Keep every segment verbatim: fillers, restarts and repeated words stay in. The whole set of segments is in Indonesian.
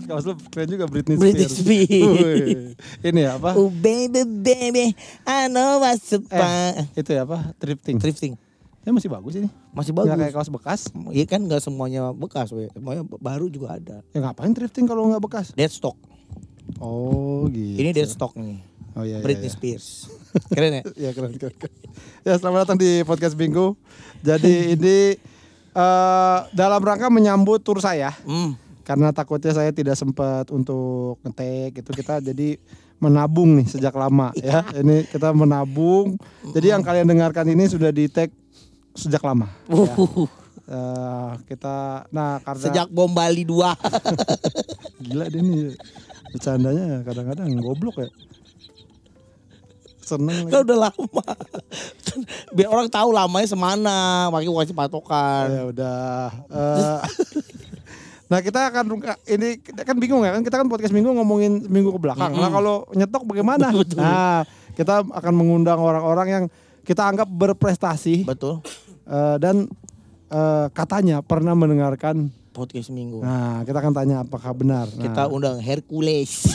Lihat kaos lu keren juga Britney Spears. Britney Spears. Ini apa? Oh baby baby, I know what's up. Eh, itu ya apa? Thrifting. Thrifting. Ya masih bagus ini. Masih bagus. Nggak kayak kaos bekas. Iya kan nggak semuanya bekas, we. Semuanya baru juga ada. Ya ngapain thrifting kalau nggak bekas? Dead stock. Oh gitu. Ini dead stock nih. Oh iya. Britney iya, iya. Spears. Keren ya? Ya keren, keren, keren. Ya selamat datang di podcast Bingo. Jadi ini uh, dalam rangka menyambut tur saya. Hmm. Karena takutnya saya tidak sempat untuk ngetek itu kita jadi menabung nih sejak lama ya. Ini kita menabung. Jadi yang kalian dengarkan ini sudah di tag sejak lama. Ya. Uh, kita nah karena Sejak bom Bali dua. gila dia nih bercandanya kadang-kadang goblok ya. Seneng Kan udah lama. Biar orang tahu lamanya semana, makanya gua kasih patokan. Ya udah. Uh, nah kita akan ini kita kan bingung ya kan kita kan podcast minggu ngomongin minggu ke belakang. Mm-hmm. Nah kalau nyetok bagaimana? Betul. Nah kita akan mengundang orang-orang yang kita anggap berprestasi. Betul. Uh, dan uh, katanya pernah mendengarkan Podcast minggu. Nah kita akan tanya apakah benar. Nah, Kita undang Hercules.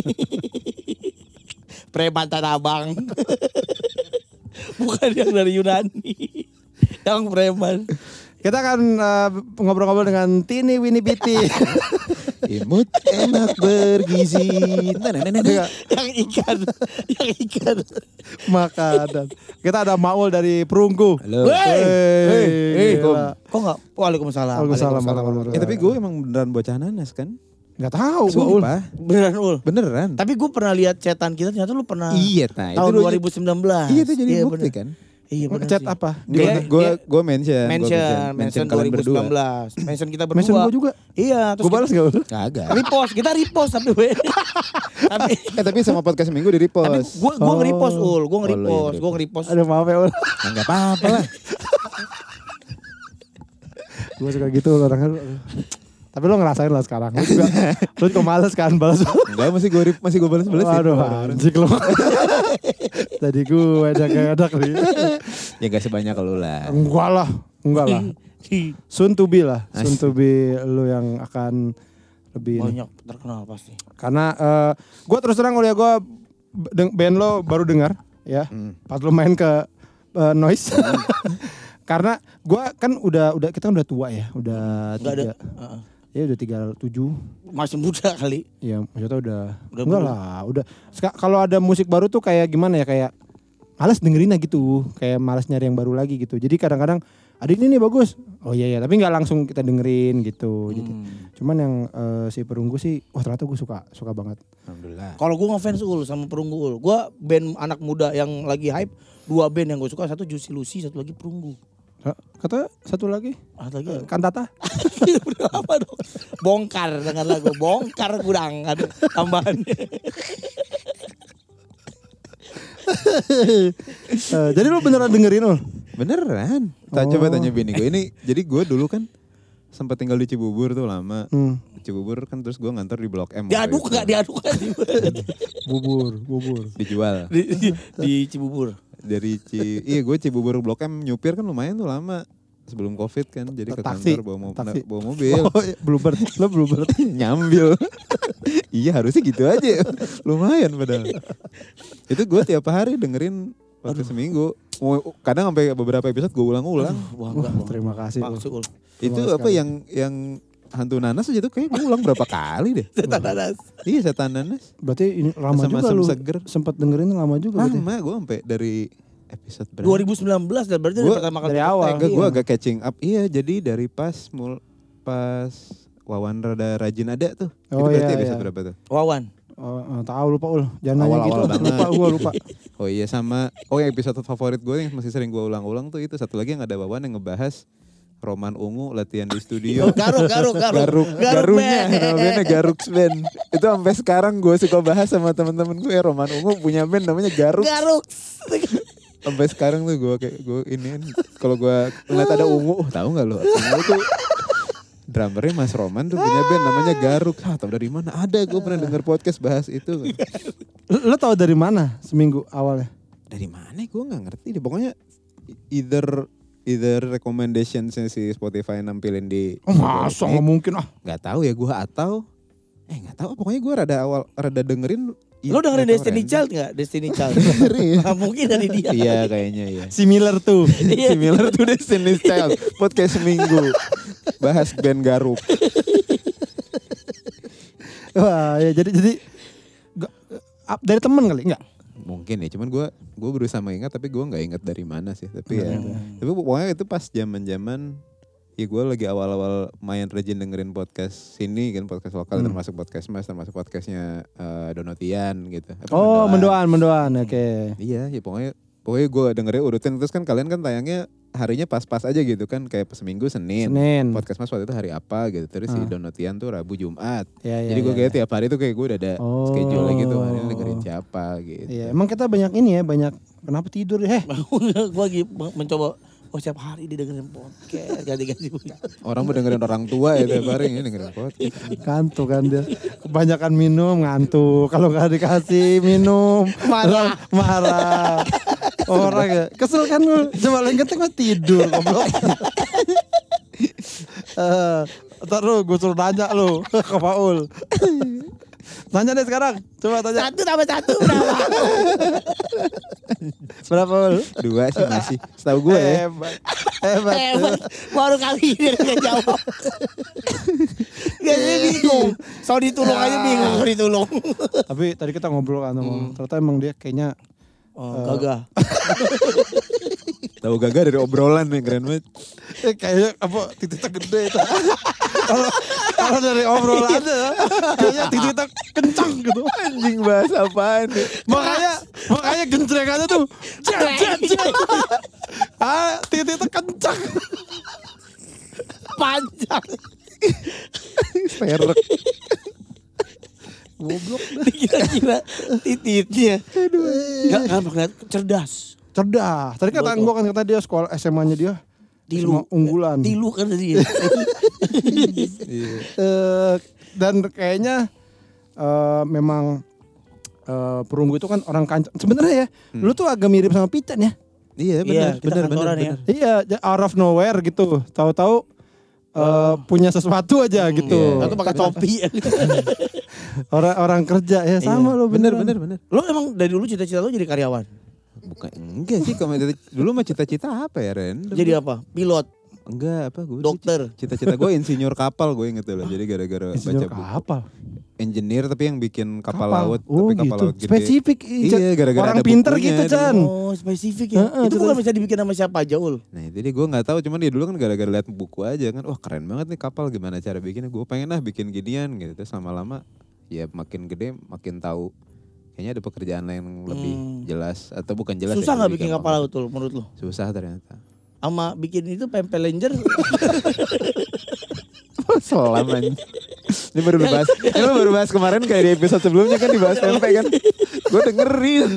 Preman Tanah Abang. Bukan yang dari Yunani. Yang preman. kita akan uh, ngobrol-ngobrol dengan Tini Winnie Biti. Imut enak bergizi. Nah, nah, nah, nah. Yang ikan. Yang ikan. Makanan. Kita ada Maul dari Perunggu. Halo. Wey. Hey, Hey, gila. Kok enggak? Waalaikumsalam. Waalaikumsalam. Waalaikumsalam. Eh tapi gue emang beneran bocah nanas kan? Gak tahu gua Ul. Sumpah. Beneran Ul. Beneran. Tapi gue pernah lihat chatan kita ternyata lu pernah. Iya, nah itu tahun lu- dua ribu sembilan belas. Iya itu jadi bukti bener. kan? Iya benar. Chat sih. apa? Dia- Gue gue dia- gue mention, gua Mention, mention dua kalian ribu sembilan belas. Mention kita berdua. Mention gua juga. Iya, terus Gue balas gak Ul? Kagak. repost, kita repost tapi we. tapi Eh tapi sama podcast minggu di tapi repost. gua gua Oh. nge-repost ul, gua Oh, lo yang nge-repost, gua nge-repost. nge-repost. Aduh maaf ya Ul. Nah, enggak apa-apa lah. Gue suka gitu orangnya. Tapi lo ngerasain lah sekarang. Lo juga, lo juga males kan balas. Enggak masih gue masih gue balas-balas Aduh anjing lo. Tadi gue ada-ada nih. Ya enggak sebanyak lu lah. Enggak lah. Enggak lah. Soon to be lah. Soon to be lo yang akan lebih ini. Banyak terkenal pasti. Karena uh, gue terus terang kuliah gue band lo baru dengar ya. Hmm. Pas lo main ke uh, Noise. Karena gue kan udah udah kita kan udah tua ya. Udah Enggak ada. tiga. Heeh. Ya udah tiga tujuh. Masih muda kali. Ya maksudnya udah, Udah enggak baru. lah, udah. Seka- Kalau ada musik baru tuh kayak gimana ya, kayak malas dengerinnya gitu, kayak malas nyari yang baru lagi gitu. Jadi kadang-kadang ada ini nih bagus, oh iya ya, tapi nggak langsung kita dengerin gitu. Jadi, Hmm. cuman yang eh, si Perunggu sih, wah ternyata gue suka, suka banget. Alhamdulillah. Kalau gua ngefans ul sama Perunggu ul. Gua band anak muda yang lagi hype, dua band yang gue suka, satu Juicy Lucy, satu lagi Perunggu. Kata satu lagi, Ah, lagi eh, Kantata. udah apa dong? Bongkar dengan lagu Bongkar Gudang ada tambahannya. Eh, jadi lu beneran dengerin ul? Beneran. Tak Oh. coba tanya bini gue ini. Jadi gue dulu kan sempat tinggal di Cibubur tuh lama. Hmm. Cibubur kan terus gue ngantor di Blok M. waktu Diaduk itu. enggak diaduk kan Bubur, bubur. Dijual. di, di, di Cibubur. Dari Ci, iya gue Cibubur Blok M nyupir kan lumayan tuh lama sebelum Covid kan, jadi ke Taksi, kantor bawa, mo- taksi. bawa mobil, Oh, iya, Bluebird, lo Bluebird. nyambil. Iya harusnya gitu aja, lumayan padahal. Itu gue tiap hari dengerin waktu seminggu, Mau- kadang sampai beberapa episode gue ulang-ulang. Wah, Wah, terima kasih. Ul. Maksul. Itu Terima apa sekali. yang yang hantu nanas aja tuh kayak gue ulang berapa kali deh. Setan nanas. Iya setan nanas. Berarti ini lama Sama juga asam lu. seger. Sempat dengerin lama juga berarti. Lama gue sampai dari episode berapa? dua ribu sembilan belas dan berarti Gua pertama kali dari kita awal. tag, Enggak, iya. gue agak catching up. Iya, jadi dari pas mul pas Wawan rada rajin ada tuh. Oh, itu berarti iya, episode iya. berapa tuh? Wawan. Oh, oh, tahu lupa ul. Jangan nanya Awal-awal gitu. banget. Lupa gua lupa. Oh iya sama. Oh yang episode favorit gue yang masih sering gue ulang-ulang tuh itu satu lagi yang ada Wawan yang ngebahas Roman Ungu latihan di studio. Garuk, garuk, garuk. Garuk, Garuk garunya, band. namanya Garuk Band. Itu sampai sekarang gue suka bahas sama temen-temen gue ya Roman Ungu punya band namanya Garuk. Garuk. Sampai sekarang tuh gue kayak gue ini kalau gue ngeliat ada Ungu, oh, tahu nggak lo? Ungu tuh drummernya Mas Roman tuh punya band namanya Garuk. Ah, tahu dari mana? Ada, gue pernah denger podcast bahas itu. Lo tahu dari mana seminggu awalnya? Dari mana? Gue nggak ngerti deh. Pokoknya either either recommendation si Spotify nampilin di. Oh, masa nggak mungkin ah. Nggak tahu ya gue atau Eh nggak tahu, pokoknya gue rada awal rada dengerin. Lo dengerin nggak tahu, Destiny random. Child nggak? Destiny Child. Dengerin. Nah, mungkin dari dia. Iya kayaknya iya. Similar tuh. Similar to Destiny's Child. Podcast seminggu. Bahas band Garuk. Wah, ya jadi jadi gak, up dari temen kali enggak? Mungkin ya, cuman gue gue berusaha mengingat tapi gue nggak ingat dari mana sih. Tapi ya, Hmm. tapi pokoknya itu pas zaman-zaman ya gue lagi awal-awal main rajin dengerin podcast sini kan, podcast lokal Hmm. termasuk podcast Mas, termasuk podcastnya eh, Donotian gitu. Apa, Oh, Mendoan. mendoan, mendoan. Oke. Iya, ya pokoknya pokoknya gue dengerin urutin terus kan kalian kan tayangnya harinya pas-pas aja gitu kan, kayak seminggu Senin. Senin. Podcast Mas waktu itu hari apa gitu. Terus si Ah. Donotian tuh Rabu Jumat. Ya, ya, Jadi gue ya, kayak ya. tiap hari tuh kayak gue udah ada Oh. schedule gitu, hari ini dengerin siapa gitu. Iya, emang kita banyak ini ya, banyak kenapa tidur ya? Heh. Gue lagi mencoba. Oh setiap hari didengerin podcast ganti-ganti. Orang mau dengerin orang tua ya tiap hari ini dengerin podcast. Ngantuk kan dia. Kebanyakan minum ngantuk. Kalau nggak dikasih minum Marah. marah. Orang ya kesel kan lu. Coba yang penting mah tidur goblok. Eh, ntar lu gue suruh nanya lu ke Paul. Tanya deh sekarang. Coba tanya. Satu tambah satu berapa? Berapa Paul? Dua sih masih. Setahu gue ya. Hebat. Hebat. Hebat. Baru kali ini dia jawab. Biasanya bingung. So ditulung aja bingung so ditulung. Tapi tadi kita ngobrol kan sama ternyata emang dia kayaknya Oh, gagah. Tahu gagah dari obrolan nih, keren banget. eh, kayaknya apa titiknya gede itu. Kalau kalau dari obrolannya kayaknya titiknya kencang gitu. Anjing bahas apaan nih? Makanya makanya genjrekannya tuh jet jet jet. Ah, titiknya kencang. Panjang. Perek. Goblok. Kira-kira tititnya. Enggak kan kelihatan cerdas. Cerdas. Tadi kata Betul. gua kan kata dia sekolah S M A-nya dia Tilu. S M A unggulan. Tilu kan tadi. Iya. Eh, dan kayaknya eh, memang eh, Perunggu itu kan orang kancam. Sebenarnya ya, lu tuh agak mirip sama Pican ya. Iya Iya, benar, kita benar, benar, kantoran ya. benar. Iya, j- out of nowhere gitu. Tahu-tahu eh, punya sesuatu aja gitu. Iya. Atau pakai topi. Orang-orang kerja ya sama lo Benar, beneran. benar, benar. Lo emang dari dulu cita-cita lo jadi karyawan? Bukan enggak sih, kalau dari- dulu mah cita-cita apa ya, Ren? Jadi apa? Pilot, Enggak apa gue. dokter. Cita-cita gue insinyur kapal, gue inget dulu. Jadi gara-gara Insinyur baca buku. kapal. Engineer tapi yang bikin kapal, Kapal. laut, Oh, tapi kapal gitu. laut gede. Spesifik. Iya, gara-gara orang ada pinter bukunya, gitu, ada- Chan. Oh spesifik ya? Heeh, Itu betul. bukan bisa dibikin sama siapa aja Ul? Nah jadi gue nggak tahu, cuman dia dulu kan gara-gara liat buku aja kan, wah keren banget nih kapal, gimana cara bikinnya, gue pengen lah bikin ginian gitu. Terus lama-lama ya makin gede makin tahu kayaknya ada pekerjaan lain yang lebih Hmm. jelas atau bukan jelas. Susah ya, nggak lebih bikin gampang. kapal laut Ul menurut lo? Susah ternyata. Sama bikin itu pempel ranger? Selaman. Ini baru dibahas. Ini lo baru bahas kemarin kayak di episode sebelumnya kan dibahas tempe kan. Gue dengerin.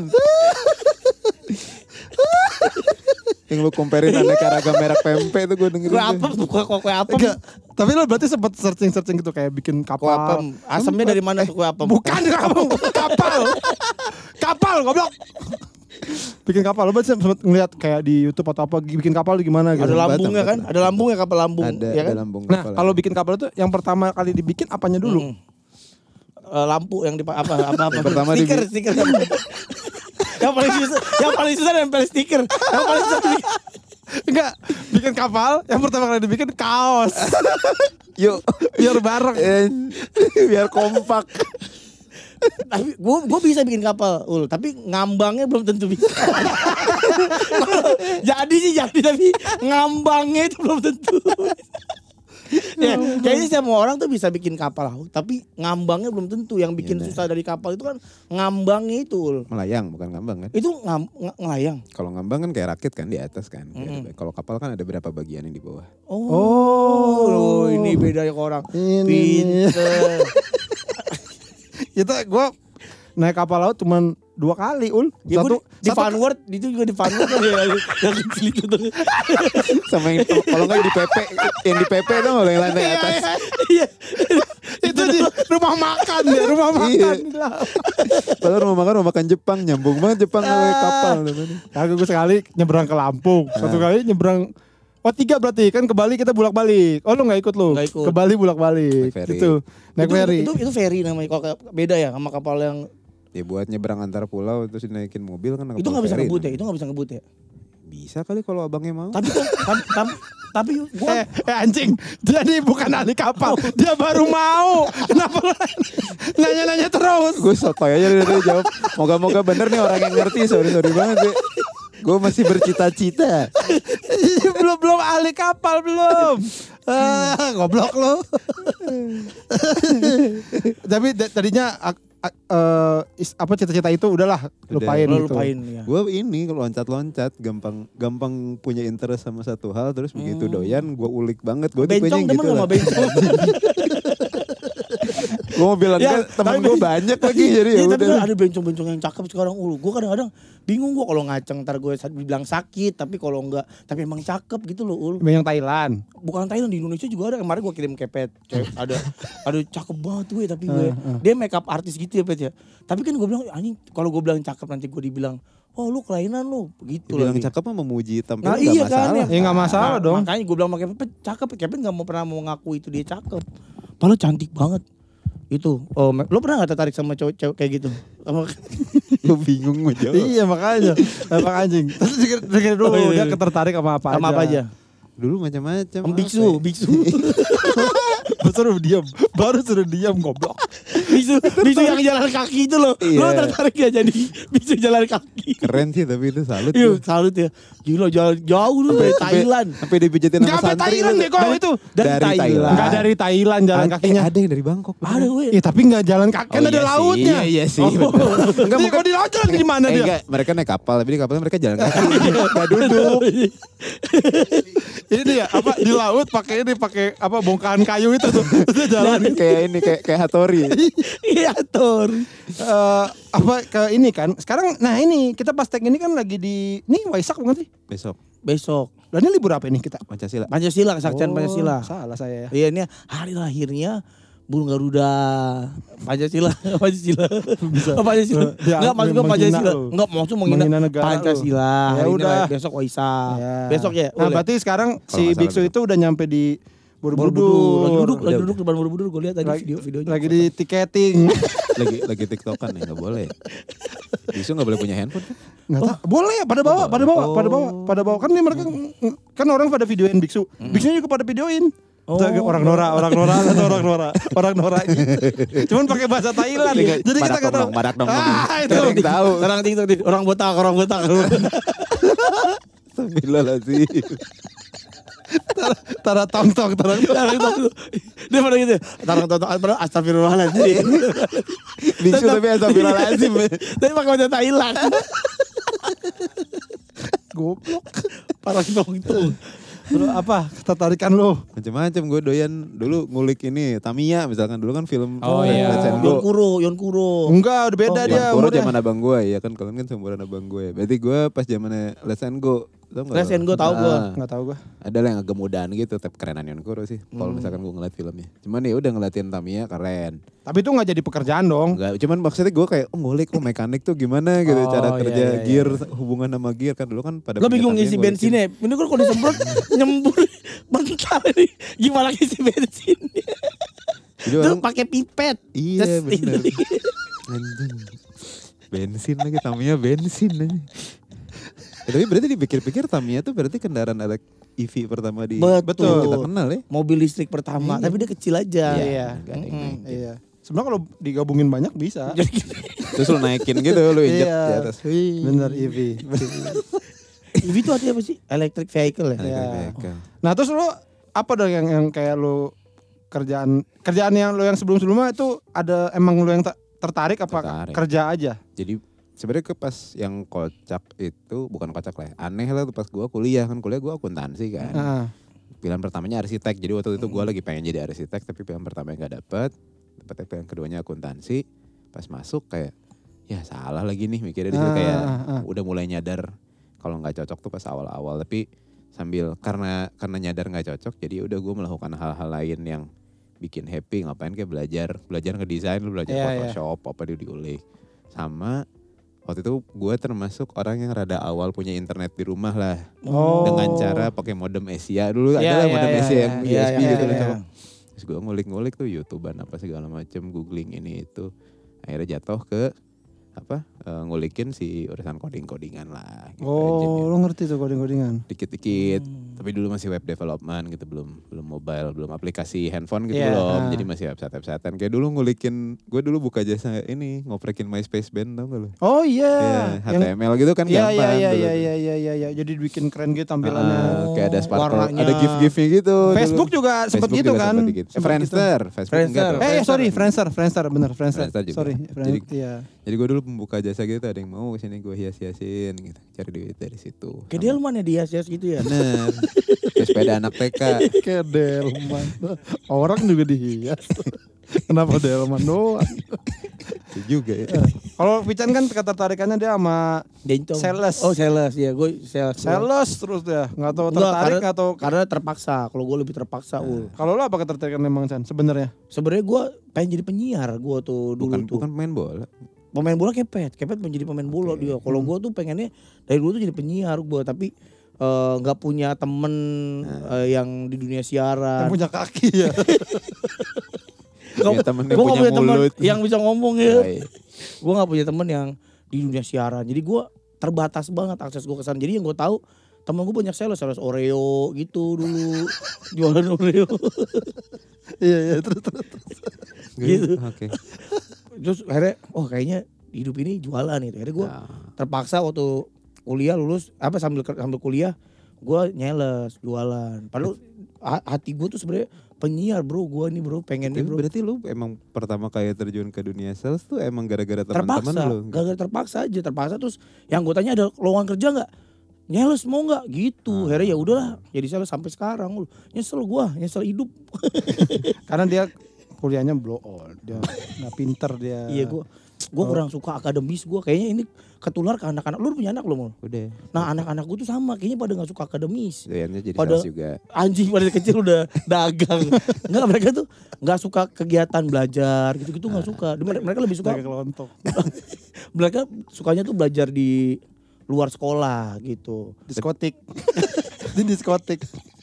Yang lu comparein aneka ragam merek pempe itu gue dengerin. Kue tuh. apem, buka kue apem. Enggak. Tapi lo berarti sempat searching-searching gitu kayak bikin Kue kapal. apem. Asamnya dari mana tuh kue apem? Bukan kapal, kapal. Kapal goblok. Bikin kapal lo berarti sempat ngeliat kayak di YouTube atau apa bikin kapal itu gimana gitu. Ada Batam, lambungnya kan? Batam. Ada lambungnya kapal lambung. Ada, ya kan? ada lambung Nah, kapal. kalau bikin kapal itu yang pertama kali dibikin apanya dulu? Mm. Eh, lampu yang di apa apa apa. Yang pertama stiker, dibi- stiker. Yang paling susah, yang paling susah nempel stiker. Yang paling susah dibikin. Enggak, bikin kapal yang pertama kali dibikin kaos. Yuk. Biar bareng. Eh, biar kompak. Tapi gue gue bisa bikin kapal, Ul. Tapi ngambangnya belum tentu bisa. Jadi sih jadi tapi ngambangnya itu belum tentu. Ya, kayaknya semua orang tuh bisa bikin kapal laut, tapi ngambangnya belum tentu. Yang bikin Iya, susah dari kapal itu kan ngambangnya itu, Ul. Melayang bukan ngambang kan? Itu ngam, ng- ngelayang. Kalau ngambang kan kayak rakit kan di atas kan. Kayak ada- Kalau kapal kan ada berapa bagian yang di bawah. Oh, Oh. loh, ini beda ya ke orang. Ini. Pinter. Itu gue naik kapal laut cuman dua kali, Ul. Ya, Satu, gua di, di satu Vanward, itu juga di Vanward kan ya, yang kecil itu tuh. Sama yang kalau nggak di P P, yang di P P tuh nggak yang lantai atas. Iya. itu di rumah makan ya, rumah Iya. makan. Lah. Padahal mau makan mau makan Jepang, nyambung banget Jepang sama kapal namanya. Kagak gue sekali nyebrang ke Lampung, satu kali nyebrang Oh tiga berarti kan ke Bali kita bolak balik. Oh lu nggak ikut lu? Nggak ikut. Ke Bali bolak balik. Naik ferry. Gitu. Naik itu, ferry. Itu, itu, itu ferry namanya. Kalau kayak- beda ya sama kapal yang Ya buat nyebrang antar pulau terus dinaikin mobil kan. itu kapal nggak bisa ferry ngebut ya. namanya. Itu nggak bisa ngebut ya. Bisa kali kalau abangnya mau. Tapi kok tapi tapi, tapi gua Eh, eh anjing, jadi bukan ahli kapal, dia baru mau. Kenapa lu nanya-nanya terus? Gue sotoy aja dari tadi jawab. Moga-moga bener nih orang yang ngerti. Sorry sorry banget deh. Gue masih bercita-cita. belum belum ahli kapal belum. Ah, goblok lu. Tapi da- tadinya ak- ak- eh, is- apa cita-cita itu udahlah lupain lo gitu. lupain ya. Gue ini kalau loncat-loncat gampang gampang punya interest sama satu hal terus begitu doyan gue ulik banget. Gue tipenya Bencong yang demen gitu gak lah. sama bencong? Gue mau bilang Ya, kan temen tapi- gue banyak lagi jadi ya Iya, tapi udah. kan ada bencong-bencong yang cakep sekarang. Ulu, gue kadang-kadang bingung gue kalau ngaceng ntar gue bilang sakit, tapi kalau enggak, tapi emang cakep gitu loh Ul. Yang Thailand. Bukan Thailand, di Indonesia juga ada. Kemarin gue kirim kepet, cewek ada, ada cakep banget gue, tapi gue dia make up artis gitu ya Pet ya. Tapi kan gue bilang anjing, kalau gue bilang cakep nanti gue dibilang, oh lu kelainan lu, begitu Bilang lagi. cakep mah memuji tampilan Nah gak iya masalah. kan Ya nggak masalah Nah, dong. Makanya gue bilang sama Kevin, "Pet, cakep." Kevin gak mau pernah mau ngaku itu dia cakep. Padahal cantik banget. Itu, oh, lo pernah gak tertarik sama cewek-cewek kayak gitu? Sama Gue bingung mau jawab. Iya makanya, emang anjing. Terus dengerin dengerin dulu Oh, iya, dia iya. ketertarik sama apa sama aja. apa aja? Dulu macam-macam. Sama apa biksu, ya? biksu. Baru suruh diam, baru suruh diam goblok. Biksu, biksu yang jalan kaki itu loh. Lo Iya. tertarik ya jadi biksu jalan kaki? Keren sih tapi itu salut. Iya, tuh. salut ya. Gila jalan jauh lu dari Thailand. Sampai dipijetin Enggak sama sampai santri. Thailand lu. deh kok itu. Dari, Dari Thailand. Thailand. Enggak dari Thailand jalan Ada- kakinya. eh, ada yang dari Bangkok. Ada gue. Iya tapi enggak jalan kaki, kan Oh, ada iya sih. lautnya. Iya, iya sih, Oh. bener. Enggak mau di laut jalan di mana Eh, dia? enggak, mereka naik kapal tapi di kapalnya mereka jalan kaki. Enggak duduk. Ini dia apa di laut pakai ini pakai apa bongkahan kayu itu tuh. Terus dia jalan. kayak ini kayak kayak Hattori. Iya, Tor. Eh, apa ke ini kan sekarang nah ini kita pas tag ini kan lagi di nih Waisak bukan sih? Besok Besok Lah ini libur apa ini kita? Pancasila. Pancasila, kesaktian Oh, Pancasila. Salah saya ya. Iya, ini hari lahirnya Burung Garuda. Pancasila, Pancasila. Oh, Pancasila. Dia Enggak maksud gue menghina Pancasila. lu. Enggak maksud menghina, Menghina negara lu. Pancasila. Ya Hari ini udah. lah, besok Waisak. Ya. Besok ya. Nah boleh. berarti sekarang Kalau si nggak salah Biksu besok. itu udah nyampe di Borobudur. Lagi Borobudur. duduk, lagi Udah, duduk depan Borobudur. Gue lihat tadi Lagi, video-videonya. lagi di tiketing. lagi lagi tiktokan ya nggak boleh. Bisu nggak boleh punya handphone kan? Nggak tahu. Boleh pada bawa, pada bawa, pada bawa, Oh. pada bawa. Kan nih mereka kan orang pada videoin Biksu. Biksunya juga pada videoin. Oh. Tuh, orang Nora, orang Nora, atau orang Nora, orang Nora gitu. Cuman pakai bahasa Thailand. Iya, Jadi kita badak nggak tahu. dong, badak dong. Ah, itu. Nggak ada yang tahu. Orang TikTok nih, orang botak, orang botak. Astagfirullahaladzim. Tara tong tong, tara tong. Orang TikTok tuh. Dia pada gitu. Tarang tonton, padahal astagfirullahaladzim. Bisu tapi astagfirullahaladzim. Tapi pakai bahasa Thailand. Goblok. Parah tong-tong. Terus apa ketertarikan lo? Macam-macam gue doyan dulu ngulik ini Tamiya misalkan dulu kan film Oh Let's iya. and Yon Go. Kuro, Yon Kuro. Enggak, udah beda Oh, dia. Yon Kuro umurnya. zaman abang gue ya kan kalian kan seumuran abang gue. Berarti gue pas zamannya Let's and Go. Tau nggak Let's lo? and Go tahu gue. Ah, Enggak tahu gua. ada lah yang agak mudaan gitu tapi kerenan Yon Kuro sih. Kalau misalkan gue ngeliat filmnya. Cuman ya udah ngeliatin Tamiya keren. Tapi itu enggak jadi pekerjaan dong. Enggak, cuman maksudnya gue kayak oh ngulik oh mekanik tuh gimana gitu Oh, cara iya, kerja iya, iya. gear hubungan sama gear kan dulu kan pada Lo punya bingung Tamiya ngisi ngulikin. bensinnya. Ini kan kalau disemprot nyembur bentar nih. Gimana ngisi bensinnya? Jadi Terus orang pakai pipet. iya Terus bener. ini. Anjing. Bensin lagi Tamiya bensin aja. Ya, tapi berarti dipikir-pikir Tamiya tuh berarti kendaraan elek E V pertama di Betul. yang kita kenal ya. Mobil listrik pertama, Iya. tapi dia kecil aja. Iya. Nggak ada yang Mm-mm. naikin. Iya. Sebenarnya kalau digabungin banyak bisa. Jadi Terus lu naikin gitu lu injek Iya. di atas. Wih. Bener E V. E V itu artinya apa sih? Electric vehicle ya? Electric Iya. vehicle. Nah terus lo apa dong yang yang kayak lo kerjaan kerjaan yang lo yang sebelum sebelumnya itu ada emang lo yang ter- tertarik apa Tertarik. kerja aja? Jadi sebenarnya ke pas yang kocak itu bukan kocak lah ya. Aneh lah tuh pas gua kuliah kan kuliah gua akuntansi kan. Nah, Pilihan pertamanya arsitek. Jadi waktu itu gua lagi pengen jadi arsitek tapi pilihan pertamanya nggak dapet. Dapet pilihan keduanya akuntansi. Pas masuk kayak ya salah lagi nih mikirnya di situ Ah, kayak ah, ah. udah mulai nyadar kalau nggak cocok tuh pas awal-awal tapi sambil karena karena nyadar nggak cocok jadi udah gue melakukan hal-hal lain yang bikin happy ngapain kayak belajar belajar ngedesain lu belajar Iya, iya. Photoshop apa dia diulik sama waktu itu gue termasuk orang yang rada awal punya internet di rumah lah. Oh. Dengan cara pakai modem Asia dulu, Iya, ada lah iya, modem iya, Asia iya, yang iya, U S B iya, gitu iya, loh. iya. Terus gue ngulik-ngulik tuh YouTubean apa segala macem, googling ini itu. Akhirnya jatuh ke apa uh, ngulikin si urusan coding-codingan lah. Gitu, Oh, lo ngerti tuh coding-codingan? dikit-dikit. Hmm. Tapi dulu masih web development gitu, belum belum mobile, belum aplikasi handphone gitu Iya, belum. ah. Jadi masih website-websitean. Kayak dulu ngulikin, gue dulu buka jasa ini ngoprekin MySpace band tau gak lo? Oh iya. Iya, H T M L gitu kan Iya, gampang iya, iya, dulu. iya, iya, iya, iya, iya. Jadi bikin keren gitu tampilannya. Ah, kayak ada sparkle, warnanya. ada gif-gifnya gitu. Facebook dulu. juga sempet Facebook gitu juga kan? sempet dikit. Sempet Friendster, gitu. Facebook enggak Friendster. tuh. Eh sorry, Friendster, Friendster bener, Friendster. Friendster juga. Sorry, Jadi- Friend, iya. Jadi gue dulu pembuka jasa gitu, ada yang mau kesini gue hias-hiasin gitu, cari duit dari situ. Kayak Delman ya dia hias gitu ya. Bener. Terus sepeda anak T K. Kayak Delman. Orang juga dihias. Kenapa Delman doang? Itu juga ya. Kalau Pican kan ketertarikannya dia sama Dencong. Sales. Oh sales ya, gue sales. sales terus dia. Nggak tahu Enggak, tertarik karena, nggak tahu. karena terpaksa. Kalau gue lebih terpaksa. Ul. Kalau lo apa ketertarikan memang Chan sebenarnya? Sebenarnya gue pengen jadi penyiar gue tuh dulu Bukan tuh. bukan main bola. Pemain bola kepet, kepet menjadi pemain bola Oke. dia. Kalau gue tuh pengennya dari dulu tuh jadi penyiar gue, tapi eh, nggak punya temen eh, yang di dunia siaran. Yang punya kaki ya. Punya temen yang Gue gak punya punya temen mulut. yang bisa ngomong ya. Baik. Gue gak punya temen yang di dunia siaran. Jadi gue terbatas banget akses gue ke sana. Jadi yang gue tahu temen gue banyak sales, sales Oreo gitu dulu. Jualan Oreo. Iya iya terus terus. Gitu. Oke. Terus akhirnya oh kayaknya hidup ini jualan gitu. Akhirnya gue Nah, terpaksa waktu kuliah lulus apa sambil sambil kuliah gue nyales jualan. Padahal ha- hati gue tuh sebenarnya penyiar bro, gue nih bro pengen nih tapi bro. berarti lu emang pertama kali terjun ke dunia sales tuh emang gara-gara teman-teman Terpaksa, lu? gara-gara terpaksa aja, terpaksa terus yang gue tanya ada lowongan kerja nggak? Nyales mau nggak? Gitu. Ah. Akhirnya ya udahlah, jadi sales sampai sekarang. Lu nyesel gue, nyesel hidup. Karena dia kuliahnya blow on, dia nggak pinter dia. Iya gue, gue kurang suka akademis gue. Kayaknya ini ketular ke anak-anak. Lu punya anak lu mau? Udah. Nah anak-anak gue tuh sama, kayaknya pada nggak suka akademis. Doyannya jadi Pada- sales juga. Anjing pada dari kecil udah dagang. Enggak, mereka tuh nggak suka kegiatan belajar gitu-gitu nggak suka. Mereka mereka lebih suka Kayak kelontok. mereka sukanya tuh belajar di luar sekolah gitu. Diskotik. Di diskotik.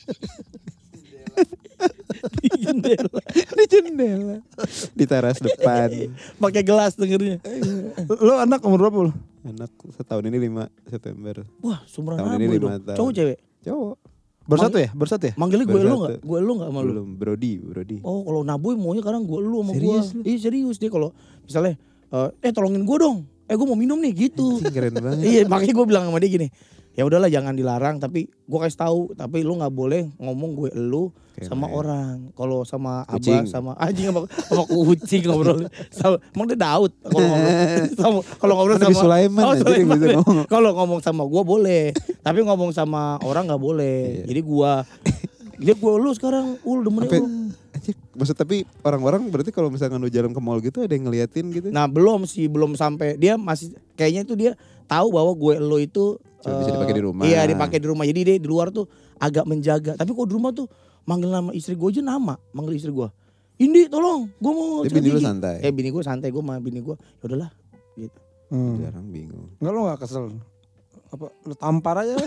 Di jendela. Di jendela. Di teras depan. Pakai gelas dengernya. Lo anak umur berapa lo? Anak setahun ini lima September. Wah, sumuran Tahun sama ini gue lima dong. tahun. Cowok cewek? Cowok. Bersatu ya? Bersatu ya? Manggilnya gue Baru lu satu. enggak? Gue lu enggak sama lu? Belum, Brody, Brody. Oh, kalau Naboy maunya kadang gue lu sama gue. Serius lu? Iya, serius dia kalau misalnya eh, eh tolongin gue dong. Eh gue mau minum nih gitu. Anjing, keren banget. Iya, makanya gue bilang sama dia gini. Ya udahlah jangan dilarang, tapi gue kasih tahu, tapi lu nggak boleh ngomong gue lu Keren. sama orang. Kalau sama Kucing. abah sama anjing sama, sama kucing ngobrol. Sama, emang dia Daud kalau ngobrol. Sama kalau ngobrol Nabi sama Sulaiman Oh, aja dia Sulaiman bisa ya. ngomong. Kalau ngomong sama gue boleh, tapi ngomong sama orang nggak boleh. Iya. Jadi gue dia gue lu sekarang ul demennya Sampai, lu. anjir, maksud tapi orang-orang berarti kalau misalkan lu jalan ke mall gitu ada yang ngeliatin gitu? Nah belum sih, belum sampai. Dia masih kayaknya itu dia tahu bahwa gue lo itu Cuma bisa eh, dipakai di rumah. Iya dipakai di rumah. Jadi dia di luar tuh agak menjaga. Tapi kok di rumah tuh manggil nama istri gue aja nama, manggil istri gue. Indi tolong, gue mau Tapi sikat bini lu gigi." santai. Eh bini gue santai, gue sama bini gue. Ya udahlah. Gitu. Hmm. Jarang bingung. Enggak lo gak kesel? Apa lu tampar aja?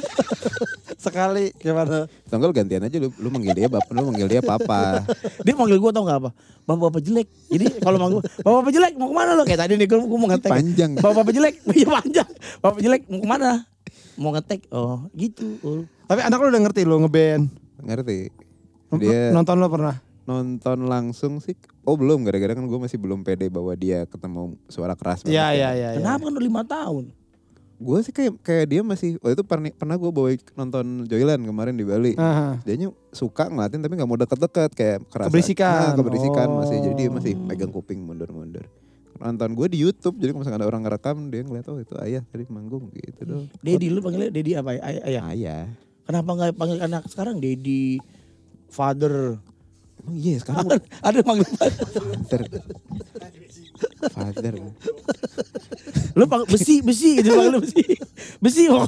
Sekali gimana? Atau enggak lu gantian aja lu, lu manggil dia bapak, lu manggil dia papa. Dia manggil gue tau gak apa? Bapak-bapak jelek. Jadi kalau manggil gue, bapak-bapak jelek mau kemana lo? Kayak tadi nih gue, gue mau ngetek. Panjang. Bapak-bapak jelek, iya panjang. Bapak jelek mau kemana? Mau ngetek. Oh gitu. Ul. Tapi anak lu udah ngerti lo ngeband. Ngerti? Dia... Dia Nonton lo pernah? nonton langsung sih. Oh belum, gara-gara kan gue masih belum pede bahwa dia ketemu suara keras. Iya banget iya kan. iya. Kenapa kan udah lima tahun? Gue sih kayak kayak dia masih, waktu itu pernah, pernah gue bawa nonton Joyland kemarin di Bali. Aha. Dianya suka ngeliatin tapi gak mau deket-deket kayak kerasa. Keberisikan. Nah, keberisikan Oh. masih, jadi dia masih megang kuping mundur-mundur. Nonton gue di YouTube, jadi kalau misalkan ada orang ngerekam dia ngeliat oh itu ayah tadi manggung gitu dong. Dedi lu panggilnya Dedi apa ya? Ay- ayah. Ayah. Kenapa nggak panggil anak sekarang Dedi, father? Oh iya sekarang Ada panggil father. father. Father. Lu panggil besi, besi gitu panggil besi. Besi mau.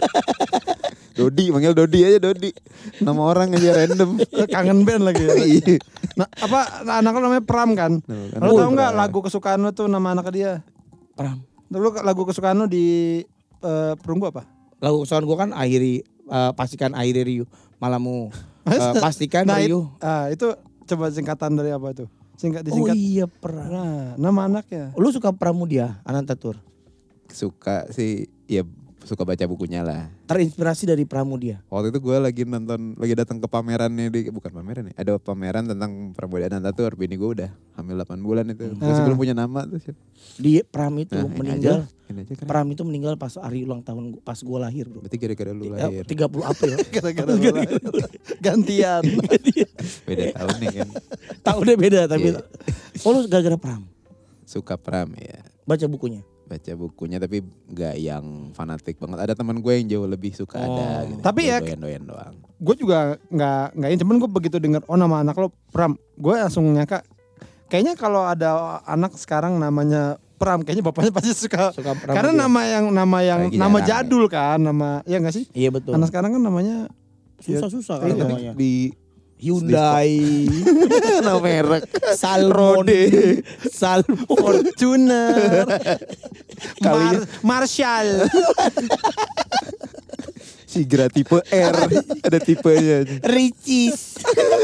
Dodi, manggil Dodi aja Dodi. Nama orang aja random. Kangen band lagi. Ya? Iya. Nah, apa nah, anak lo namanya Pram kan? Nama Lo anak tau nggak Pram. lagu kesukaan lo tuh nama anak dia? Pram. Lu lagu kesukaan lu di uh, Perunggu apa? Lagu kesukaan gue kan akhiri uh, pastikan akhiri Rio malamu. Uh, pastikan nah, Rio. It, ah, itu coba singkatan dari apa itu? Singkat disingkat. Oh iya pernah. Nah, nama anaknya. Lu suka Pramudia Anantatur? Suka sih, ya suka baca bukunya lah. Terinspirasi dari Pramudia. Waktu itu gue lagi nonton, lagi datang ke pamerannya di, bukan pameran ya, ada pameran tentang Pramudia Anantatur. Bini gue udah hamil delapan bulan itu, Hmm. masih belum punya nama tuh. Di Pram itu Nah, ini meninggal. aja, ini aja kan. Pram itu meninggal pas hari ulang tahun gua- pas gue lahir bro. Berarti gara-gara lu Ya, lahir. tiga puluh April. Gara-gara lu lahir. Gantian. Beda tahun nih kan. Tahunnya beda tapi. Iya. Oh lu gara-gara Pram. Suka Pram ya. Baca bukunya. Baca bukunya tapi gak yang fanatik banget. Ada teman gue yang jauh lebih suka Oh. ada gitu. Tapi ya- doyan-doyan doang. Gue juga nggak nggak ini, cuman gue begitu denger oh nama anak lo Pram, gue langsung nyangka kayaknya kalau ada anak sekarang namanya Pram, kayaknya bapaknya pasti suka. Suka Pramudia. Karena nama yang nama yang Lagi nama jarang, jadul kan, nama ya nggak sih? Iya betul. Anak sekarang kan namanya Susah-susah Iya, kan Tapi namanya. di Hyundai. nama merek Salmon. Salmon. Fortuner, Kalinya- Mar- Marshall, Sigra tipe R. Ada tipenya. Ricis.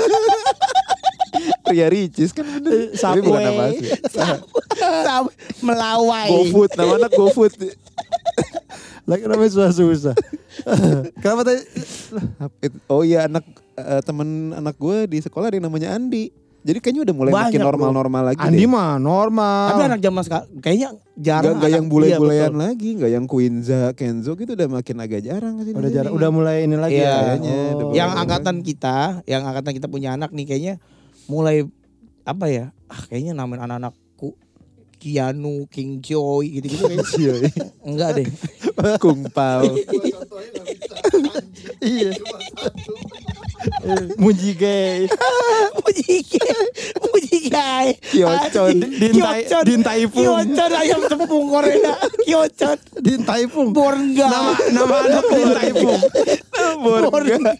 Ria Ricis kan bener. Tapi bukan nama asli. Sam- Melawai. GoFood, nama anak GoFood. lagi namanya susah-susah. Kenapa tadi? Oh iya anak eh, temen anak gue di sekolah ada yang namanya Andi. Jadi kayaknya udah mulai Banyak, makin normal-normal lagi Andi deh. mah normal. Tapi anak zaman sekarang kayaknya Gak, jarang. gak yang anak- bule-bulean iya, betul. lagi, gak yang Quinza, Kenzo gitu udah makin agak jarang sih. udah jarang, udah mulai ini lagi. Iya. ya? kayaknya, Oh. udah Yang mulai angkatan kita, yang angkatan kita punya anak nih kayaknya mulai apa ya? Ah kayaknya namain anak-anakku Kianu, King Joy gitu-gitu kayaknya. Enggak deh. Kung Pao. Iya. Mujige, Mujike, Mujike. Kiocon. Dintai, Dintai Pung, Kiocon ayam tepung Korea. Kiocon. Dintai Pung. Borga. Nama nama anak Dintai Pung. Borga.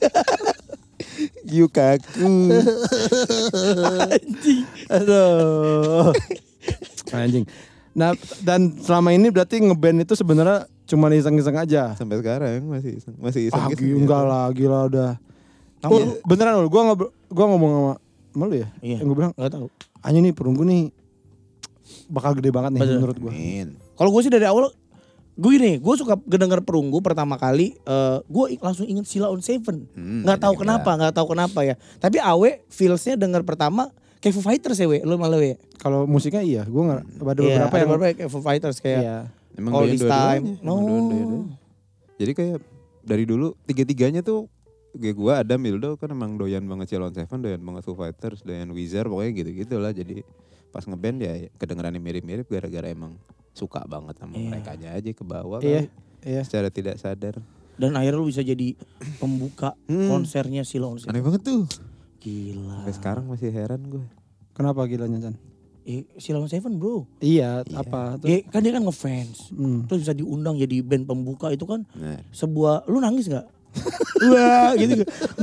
Yukaku. Anjing. Aduh. Anjing. Nah, dan selama ini berarti ngeband itu sebenarnya cuma iseng-iseng aja. Sampai sekarang masih iseng, masih iseng Ah, gitu. gila, enggak lah, gila udah. Kamu Oh, beneran loh, gua ngobrol, gua ngomong sama, sama lu ya. Iya. Yang gue bilang, Enggak tahu. anjing nih Perunggu nih bakal gede banget nih Bener. menurut gua. Amin. Kalau gue sih dari awal gue nih, gue suka denger Perunggu pertama kali, eh gue langsung inget Sheila on Seven. Hmm, Nggak tahu ada kenapa, nggak tahu kenapa ya. Tapi Awe feelsnya denger pertama kayak Foo Fighters ya, we. Lu malah we. Kalau musiknya iya, gua nggak ada Iya, beberapa ada yang beberapa kayak Foo Fighters kayak iya. Emang All doyan This dua-duanya, Time. emang doyan dua-duanya. Jadi kayak dari dulu tiga-tiganya tuh kayak gue Adam Mildo kan emang doyan banget Sheila on Seven, doyan banget Foo Fighters, doyan Weezer, pokoknya gitu-gitu lah. Jadi pas ngeband ya kedengerannya mirip-mirip gara-gara emang suka banget sama Iya. mereka aja ke bawah Iya, kali. iya. Secara tidak sadar. dan akhirnya lu bisa jadi pembuka Hmm. konsernya Sheila on Seven. Aneh banget tuh. Gila. Sampai sekarang masih heran gue. Kenapa gilanya Chan? Eh, Sheila on Seven bro. Iya, Iya. apa tuh? Dia, kan dia kan ngefans. Hmm. Terus bisa diundang jadi band pembuka itu kan Nah, sebuah, lu nangis gak? Wah gitu.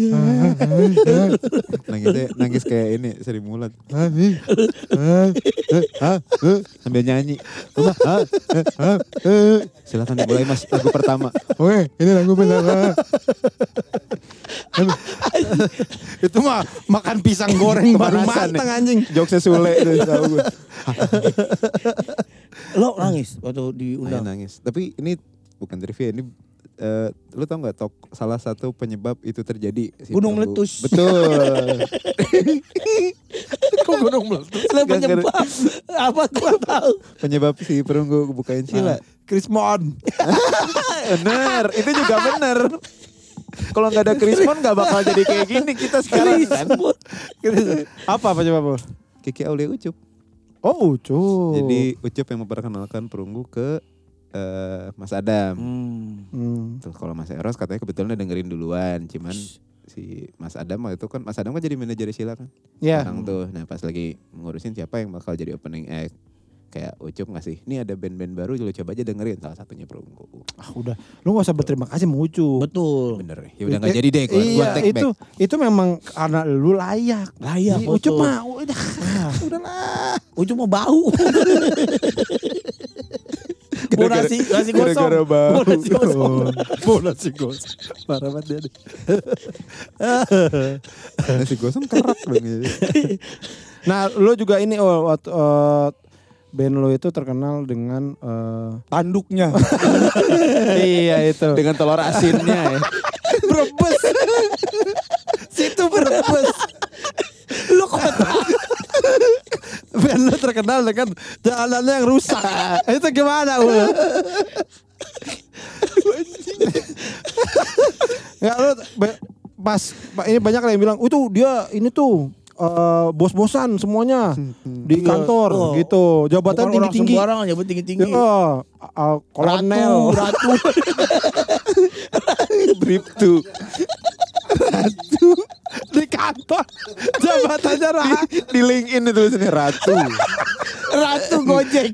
nangisnya nangis kayak ini Sri Mulat. Sambil nyanyi. Silakan dimulai Mas lagu pertama. Weh, ini lagu bener. Itu mah makan pisang goreng baru Pemanasan matang nih. anjing. Jokesnya Sule tuh tahu gue. Lo nangis waktu Ayo diundang. nangis. Tapi ini bukan trivia, ini eh, lu tau gak tok salah satu penyebab itu terjadi si Gunung Perunggu. meletus. Betul. Kok gunung meletus? Lah Gak penyebab apa gua tahu. Penyebab si Perunggu bukain Sheila. Krismon. Bener, itu juga bener. Kalau nggak ada Krismon nggak bakal jadi kayak gini kita sekarang kan. Apa penyebab? Kiki Aulia Ucup. Oh, Ucup. Jadi Ucup yang memperkenalkan Perunggu ke eh, Mas Adam. Hmm. Hmm. Terus kalau Mas Eros katanya kebetulan udah dengerin duluan, cuman si Mas Adam waktu itu kan Mas Adam kan jadi manajer Sheila kan. Ya. Sekarang tuh, nah pas lagi ngurusin siapa yang bakal jadi opening act. Kayak Ucup ngasih, ini ada band-band baru, lu coba aja dengerin, salah satunya Perunggu. Ah, udah. Lu gak usah berterima kasih sama Ucup. Betul. Bener, ya udah nggak jadi deh, gua, gua Iya, take itu back. itu memang karena lu layak. Layak, Iya, Ucup betul. mah udah. Udah lah. Ucup mau bau. Bau nasi, nasi gosong. Gara-gara bau. Bau nasi gosong. Bau nasi gosong. Parah banget dia. Nasi gosong kerak dong. Jadi. Nah, lo juga ini oh, waktu, uh, band lo itu terkenal dengan uh, Tanduknya. iya itu. Dengan telur asinnya ya. Brebes. Situ Brebes. Lu kota. Band lo terkenal dengan jalanannya yang rusak. Itu gimana, Ul? Enggak lo be- pas ini banyak yang bilang, "Itu dia ini tuh uh, bos-bosan semuanya di kantor Oh. gitu. Jabatan Bukan orang tinggi-tinggi." sembarangan, jabatan tinggi-tinggi. Ya, uh, kolonel, Ratu, ratu. Bribtu. ratu di kantor. Jabatannya ratu. Di LinkedIn itu tulisannya Ratu. Ratu Gojek.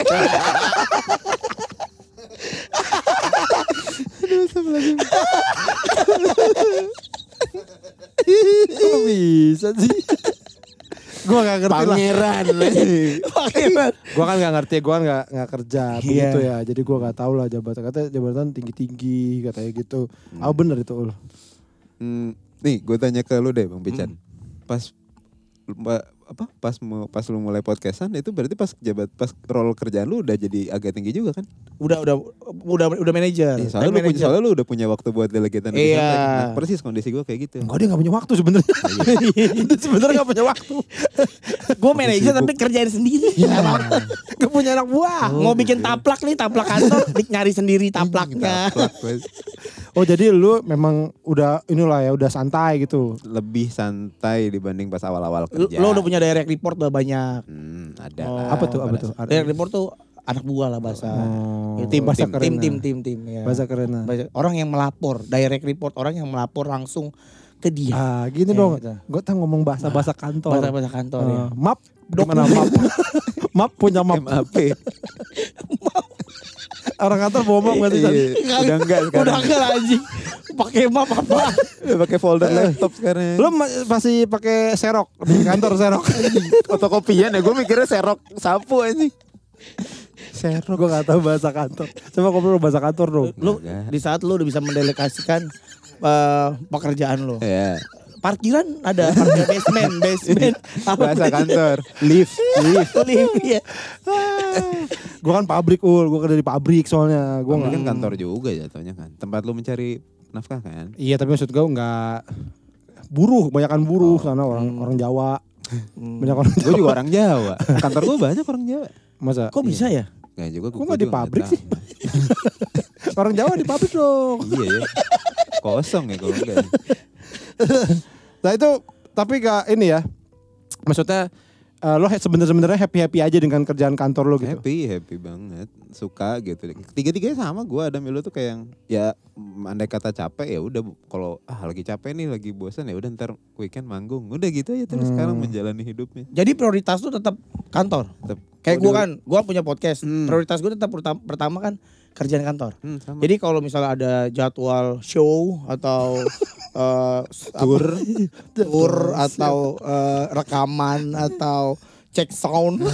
Kok bisa sih? Gua gak ngerti lah. Pangeran. Pangeran. Gua kan gak ngerti, gua kan gak, gak kerja Iya. begitu ya. Jadi gua gak tahu lah jabatan. Katanya jabatan tinggi-tinggi katanya gitu. Ah bener itu Ul. Hmm, nih gue tanya ke lu deh Bang Pican. Pas ba- apa pas mau pas lu mulai podcastan itu berarti pas jabat pas role kerjaan lu udah jadi agak tinggi juga kan? Udah udah udah udah manajer. Eh, soalnya, lu punya, soalnya lu udah punya waktu buat delegatean. Iya. Nah, persis kondisi gue kayak gitu. Enggak, dia gak punya waktu sebenarnya. Dia sebenarnya gak punya waktu. Gue manajer tapi kerjain sendiri. Gak punya anak buah. Mau bikin taplak nih, taplak kantor, dik nyari sendiri taplaknya. Taplak, wes. Oh jadi lu memang udah inilah ya, udah santai gitu. Lebih santai dibanding pas awal-awal Lu, kerja. lu udah punya direct report udah banyak. Hmm, ada Oh. lah. Apa tuh, apa Pada- tuh? Direct report tuh anak buah lah bahasa. Oh, Itu tim, bahasa tim, keren. tim, tim, tim, tim, ya. Bahasa keren. Bahasa- orang yang melapor, direct report orang yang melapor langsung ke dia. Ah, gini Ya, dong. gitu. Gue tak ngomong bahasa-bahasa kantor. Bahasa-bahasa kantor ya. Eh, map, gimana map? Map punya map. M A P. Orang kantor bawa map gak sih? San? Iya, udah enggak sekarang. Udah enggak anjing. Pakai map apa? Udah pakai folder laptop sekarang. Lu ma- masih pakai serok di kantor serok. Fotokopian ya, gue mikirnya serok sapu anjing. Serok gue gak tahu bahasa kantor. Coba ngobrol bahasa kantor dong. Lu Enggak. di saat lu udah bisa mendelegasikan eh, pekerjaan lu. Iya. Parkiran ada, parkir basement, basement. Bahasa kantor. Lift, lift. Lift, ya. Gue kan pabrik ul, gue kerja di pabrik soalnya. Gue Gue nggak. kan kantor juga jatuhnya kan. Tempat lu mencari nafkah kan. Iya tapi maksud gue nggak buruh, kebanyakan buruh sana orang orang Jawa. Banyak orang Gue Jawa. juga orang Jawa. Kantor gue banyak orang Jawa. Masa? Kok bisa ya? Gak juga. Kok gua nggak di juga pabrik tahu. sih? Orang Jawa di pabrik dong. Iya ya. Kosong ya kalau enggak. Nah itu tapi gak ini ya. Maksudnya eh, lo he- sebener-sebenarnya happy-happy aja dengan kerjaan kantor lo gitu. Happy, happy banget. Suka gitu. Tiga-tiganya sama gue ada Milo tuh kayak yang ya mm, andai kata capek ya udah kalau ah lagi capek nih lagi bosan ya udah ntar weekend manggung. Udah gitu aja terus Hmm. sekarang menjalani hidupnya. Jadi prioritas lu tetap kantor. Tetep. Kayak Kalau gue dulu- kan, gue punya podcast. Hmm. Prioritas gue tetap pertama, pertama kan kerjaan kantor. Hmm, sama. Jadi kalau misalnya ada jadwal show atau eh, Tour. apa, tour atau eh, rekaman atau cek sound,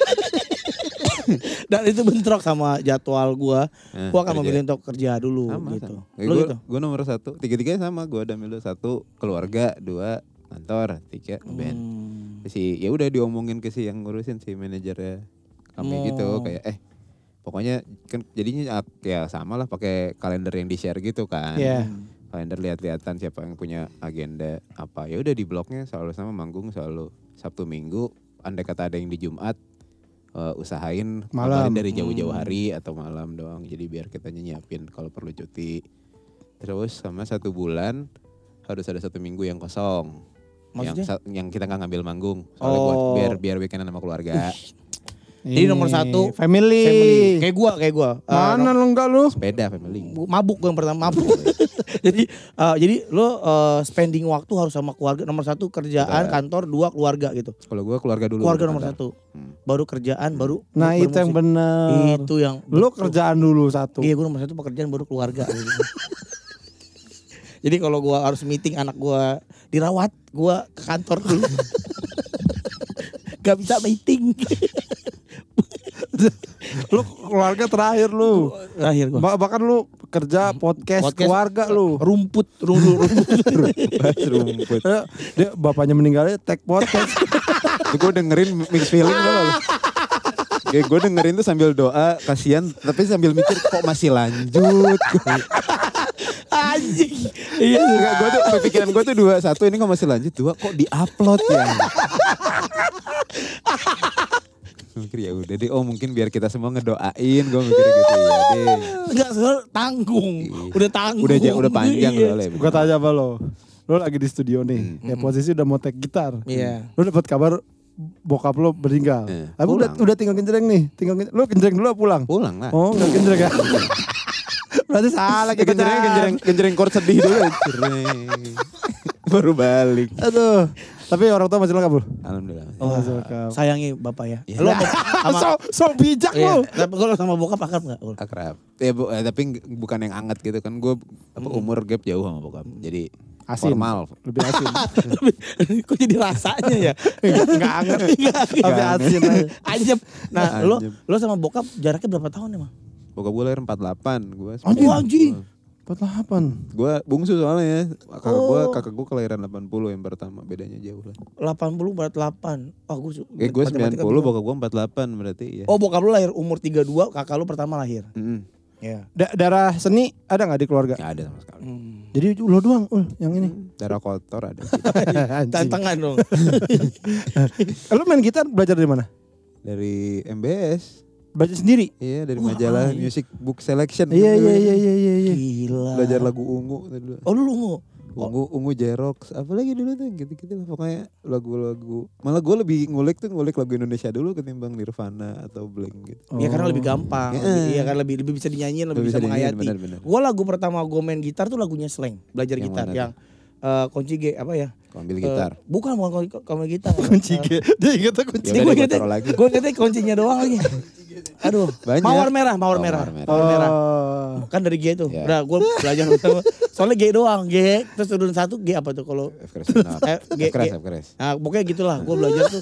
dan itu bentrok sama jadwal gue, Nah, gue akan kerja. memilih untuk kerja dulu sama, gitu. sama. Lu gue, gitu. gue nomor satu. Tiga-tiganya sama. Gue ada Milo satu keluarga, dua kantor, tiga band. Hmm. Si ya udah diomongin ke si yang ngurusin si manajernya kami Oh. gitu kayak eh pokoknya kan jadinya ak- ya sama lah pakai kalender yang di share gitu kan. Iya. Kalender lihat-lihatan siapa yang punya agenda apa. Ya udah di blognya selalu sama manggung selalu Sabtu Minggu. Andai kata ada yang di Jumat eh, usahain Malam. kabarin dari jauh-jauh Hmm. hari atau malam doang. Jadi biar kita nyiapin kalau perlu cuti. Terus sama satu bulan harus ada satu minggu yang kosong. Yang, Maksudnya? sa- yang kita nggak ngambil manggung. Soalnya buat Oh. biar biar weekendan sama keluarga. Jadi Ini, nomor satu, family. Family. Kayak gue, kayak gue. Mana lo enggak lu? Sepeda family. Mabuk gue yang pertama, mabuk. jadi eh, jadi lo eh, spending waktu harus sama keluarga. Nomor satu kerjaan, Betul. kantor, dua keluarga gitu. Kalau gue keluarga dulu. Keluarga baru nomor kantor. satu. Hmm. Baru kerjaan, baru Nah baru itu yang musik. bener. Itu yang Lu betul. kerjaan dulu satu. Iya gue nomor satu pekerjaan baru keluarga. gitu. Jadi kalau gue harus meeting anak gue dirawat, gue ke kantor dulu. Gak bisa meeting. Lu keluarga terakhir lu. Terakhir gua. Ba- bahkan lu kerja podcast, Podcast, keluarga lu. Rumput, rumput, rumput. Bahas rumput. Eh, Dia bapaknya meninggalnya tag podcast. Gue dengerin mix feeling loh. Kayak gue dengerin tuh sambil doa, kasihan, tapi sambil mikir kok masih lanjut. Anjing. Iya. Enggak, gue tuh pikiran gue tuh dua, satu ini kok masih lanjut, dua kok di-upload ya. Mikir ya udah deh, oh mungkin biar kita semua ngedoain, gue mikir gitu ya deh. Enggak, soalnya tanggung. Udah tanggung. Udah ja- udah panjang Iya. soalnya. Gua tanya apa lo? Lo lagi di studio nih, ya posisi udah mau tag gitar. Iya. Lo dapat kabar bokap lo meninggal. Eh, Tapi udah pulang. udah tinggal genjreng nih, tinggal genjreng. Lo genjreng dulu apa pulang? Pulang lah. Oh, enggak genjreng ya. Berarti salah kita. Genjreng, genjreng, genjreng chord sedih dulu. Cereng. Baru balik. Aduh. Tapi orang tua masih lengkap, Bro. Alhamdulillah. Oh, Masih lengkap. sayangi bapak ya. Iya. Lo sama, sama so, so bijak iya. lo. Tapi kalau sama bokap akrab enggak? Akrab. Ya, bu, eh, tapi ng- bukan yang anget gitu kan. Gue apa umur gap jauh sama bokap. Jadi Asin. formal. Lebih asin. Kok jadi rasanya ya? Enggak anget. Tapi asin aja. Anjep. Nah, lo Anjep. lo sama bokap jaraknya berapa tahun emang? Bokap gue lahir empat puluh delapan. Gue Anjing. Oh, anjing. empat puluh delapan. Gue bungsu soalnya ya. Kakak Oh. gue kakak gue kelahiran delapan puluh yang pertama. Bedanya jauh lah. delapan puluh berat delapan. Oh, gue Eh gue sembilan puluh, bokap gue empat puluh delapan berarti ya. Oh, bokap lu lahir umur tiga puluh dua, kakak lu pertama lahir. Mm-mm. Iya. Da- darah seni ada nggak di keluarga? Nggak ada sama sekali. Hmm. Jadi lo doang, Ul, yang ini. Darah kotor ada. Anjing. Tantangan dong. Lo main gitar belajar dari mana? Dari M B S. Belajar sendiri? Iya dari Wah, majalah iya. Music Book Selection. Iya iya iya iya iya. iya. Gila. Belajar lagu ungu dulu. Oh, lu lungu. Ungu, ungu Jerox, apalagi dulu tuh gitu-gitu lah pokoknya lagu-lagu. Malah gue lebih ngulik tuh ngulik lagu Indonesia dulu ketimbang Nirvana atau Blink gitu. Iya karena lebih gampang. Iya. Lebih- Iya kan lebih lebih bisa dinyanyiin, lebih, Lebih bisa, bisa dinyanyiin, menghayati. benar-benar. Gua lagu pertama gue main gitar tuh lagunya Slang, belajar Yang gitar mana yang eh, kunci G apa ya? Kau ambil gitar. Eh, bukan bukan kunci, kunci gitar. Kunci G. Dia ingetnya kunci. Ya Gue udah deh, gua ingetnya, taruh lagi. gue ingetnya kuncinya doang lagi. Aduh, Banyak. mawar merah, mawar Oh, merah, mawar merah. mawar merah. Oh. Kan dari G tuh. Ya. Udah gue belajar pertama. Soalnya G doang, G terus turun satu G apa tuh kalau F keras benar. Eh, G- F keras, G. F keras. Nah pokoknya gitulah gue belajar tuh.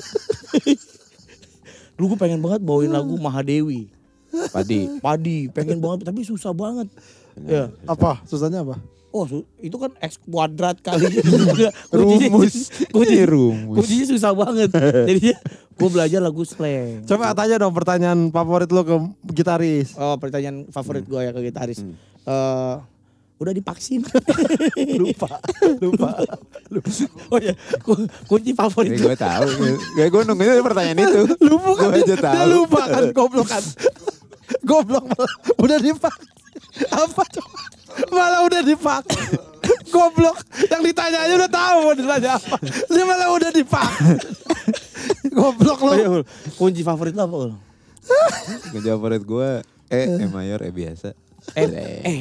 Dulu gue pengen banget bawain lagu Mahadewi, Padi. Padi, pengen banget tapi susah banget. Ya. Apa? Susahnya apa? Oh su- itu kan X kuadrat kali Rumus. kunci, Ini rumus. kuncinya susah banget. Jadi gue belajar lagu slang. Coba tanya dong pertanyaan favorit lo ke gitaris. Oh pertanyaan favorit gue ya ke gitaris. Hmm. Eh, udah divaksin. Lupa. Lupa. Oh ya ku- kunci favorit Ini gue. gue tahu. Gue gue nungguin pertanyaan itu. Lupa kan? Gue aja Dia tahu. lupa kan goblok kan. Goblok malah udah dipak. Apa coba? Malah udah dipak. Goblok. Yang ditanya aja udah tahu mau ditanya apa. Dia malah udah dipak. Goblok lo. Oh, iya, Ul. Kunci favorit lo apa? Ul? Kunci favorit gue E, E mayor, E biasa. Eh, eh.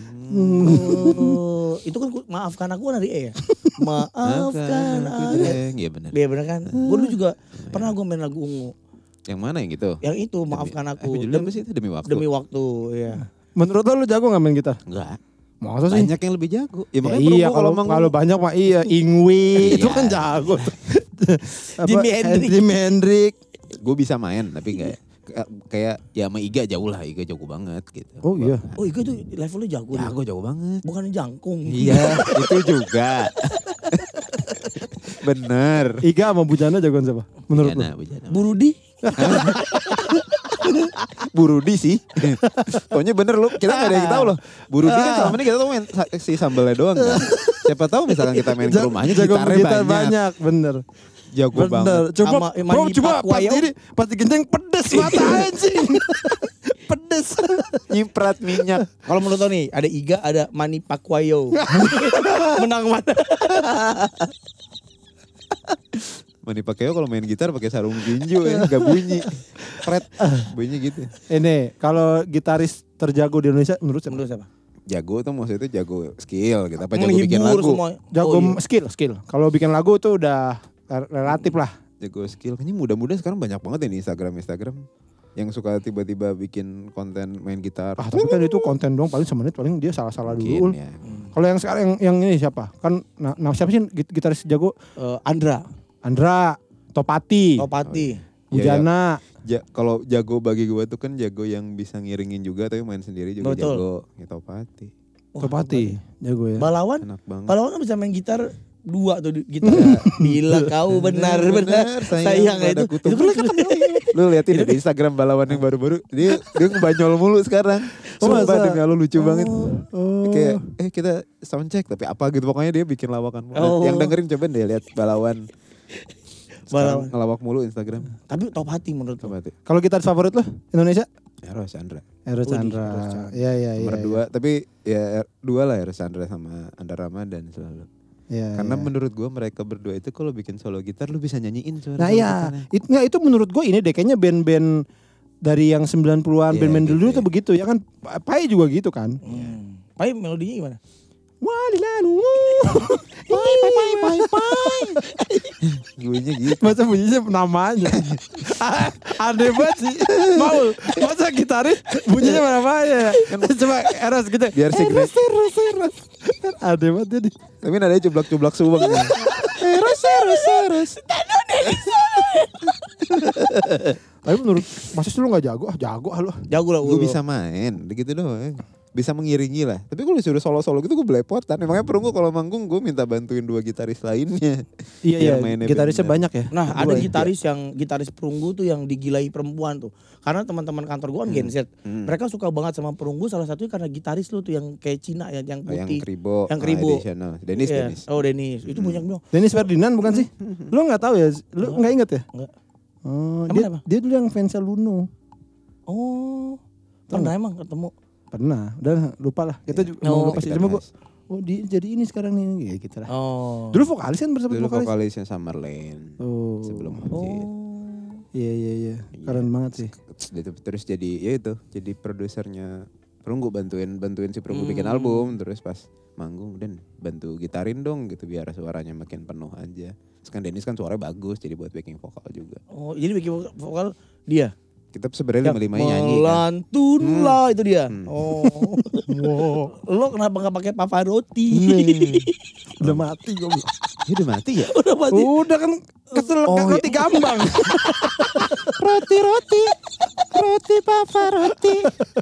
Oh, itu kan ku- maafkan aku dari E ya. Maafkan aku. Jreng. Iya benar. Iya bener kan? Gue dulu juga pernah gue main lagu ungu. Yang mana yang gitu? Yang itu maafkan Demi- aku. Eh, judulnya apa sih itu? Demi waktu. Demi waktu, ya. Menurut lo lu jago gak main gitar? Enggak. Masa sih? Banyak yang lebih jago. Ya, Ya makanya iya gua kalau emang- kalau banyak mah iya Ingwi itu Iya. kan jago. Apa, Jimi Hendrix. Jimi Hendrix. gue bisa main tapi kayak kayak- kayak ya sama Iga jauh lah, Iga jago banget gitu. Oh iya. Oh iya tuh levelnya jago. Jago dia. jago banget. Bukan jangkung. Iya, itu juga. Bener. Iga sama Bujana jagoan siapa? Menurut lo? Bujana, Bujana. Bu Rudi. Bu Rudi sih. Pokoknya bener lu, kita gak ada yang tahu loh. Bu Rudi kan selama ini kita tuh main sa- si sambelnya doang kan. Siapa tahu misalkan kita main ke rumahnya jago gitarnya gitar banyak. banyak, bener. Jago Bener. banget. Coba, Sama bro, Manny coba pas Pacquiao. ini, pas digenceng pedes mata anjing. Pedes. Nyiprat minyak. Kalau menurut lo nih, ada Iga, ada Manny Pacquiao. Menang mana? Mani Pacquiao kalau main gitar pakai sarung tinju ya, gak bunyi. Fret, bunyinya gitu. Ini kalau gitaris terjago di Indonesia menurut siapa? Menurut siapa? Jago tuh maksudnya itu jago skill gitu. Apa jago bikin Menghibur lagu? semua. Jago Oh, iya. skill, skill. Kalau bikin lagu tuh udah relatif lah. Jago skill. Kayaknya muda-muda sekarang banyak banget ya di Instagram Instagram yang suka tiba-tiba bikin konten main gitar. Ah tapi kan itu konten dong paling semenit paling dia salah-salah dulu. Mungkin ya. Kalau yang sekarang yang, yang ini siapa? Kan nah, nah siapa sih git- gitaris jago? Eh, Andra, Andra, Topati, Topati. Iya, Bujana. ja, kalau jago bagi gue tuh kan jago yang bisa ngiringin juga tapi main sendiri juga Betul. jago. Ya Topati. Topati, jago ya. Balawan, Enak banget. Balawan kan bisa main gitar dua tuh di- gitar. Bila kau benar-benar sayang pada itu. kutu. Itu kan ketemu. Lu liatin ya di Instagram Balawan yang baru-baru dia dia ngebanyol mulu sekarang. Oh, Sumpah masa? demi Allah lucu banget. Oh. Kayak eh kita soundcheck tapi apa gitu pokoknya dia bikin lawakan. Oh. Yang dengerin coba deh lihat Balawan. Sekarang Balawan. ngelawak mulu Instagram. Tapi top hati menurut lo. Topati. Kalau gitaris favorit lo Indonesia? Eros Chandra. Eros Widih, Chandra. Eros Chandra. Iya iya iya. Nomor iya. dua tapi ya er- dua lah Eros Chandra sama Andra Ramadan selalu. Iya, Karena iya. menurut gue mereka berdua itu kalau bikin solo gitar lu bisa nyanyiin suara Nah solo iya, gitarnya. itu nggak itu menurut gue ini deh kayaknya band-band dari yang sembilan puluhan Iya, band-band gitu dulu ya. tuh begitu ya kan. Pai juga gitu kan. Hmm. Pai melodinya gimana? Walilanu. Pai pai pai pai pai. Bunyinya gitu. Masa bunyinya namanya. Aneh banget sih. Mau masa gitaris bunyinya namanya. Coba Eros gitu. Biar signature. Eros Eros. Aneh banget jadi. Tapi nadanya cublak-cublak subang. Eros Eros Eros. Tapi menurut masa sih lu nggak jago? Ah jago ah lu. Jago lah Gue lu. bisa main, gitu doang. Bisa mengiringi lah. Tapi kalau disuruh solo-solo gitu gue belepotan. Emangnya perunggu kalau manggung gue minta bantuin dua gitaris lainnya. Iya iya. Biar mainnya Gitarisnya bener. banyak ya. Nah, Dua ada ya? gitaris yang gitaris perunggu tuh yang digilai perempuan tuh. Karena teman-teman kantor gua kan Gen Z. Hmm. Mereka suka banget sama perunggu salah satunya karena gitaris lu tuh yang kayak Cina ya, yang Oh, yang putih. kribo. Yang kribo. Ah, additional. Dennis, Iya. Dennis. Oh, Dennis. Itu banyak bilang. Dennis Ferdinand bukan sih? Lu nggak tahu ya? Lu nggak inget ya? Enggak. Oh, Emang dia, apa? dia dulu yang fansnya Luno. Oh. Tahu Pernah emang ketemu. Pernah, udah lupa lah. Kita juga Oh, mau lupa sih. kita Cuma gua, bahas. oh di, jadi ini sekarang nih, ya gitu lah. Oh. Dulu vokalis kan bersama Dulu vokalis. vokalisnya Summerland. Oh, Sebelum Oh. Hit. iya iya iya, keren banget sih. Terus, terus jadi ya itu, jadi produsernya Perunggu bantuin bantuin si Perunggu bikin Hmm. album, terus pas manggung dan bantu gitarin dong gitu biar suaranya makin penuh aja. Terus kan Dennis kan suaranya bagus jadi buat backing vokal juga. Oh, jadi bikin vokal- vokal dia. Kita sebenarnya Yang lima lima nyanyi kan. melantunlah itu dia. Hmm. Oh. Wow. Lo kenapa nggak pakai Pavarotti? Nih, udah mati gue. Dia udah mati ya? Udah mati. Udah kan kesel Oh, roti gambang. Roti roti roti Pavarotti.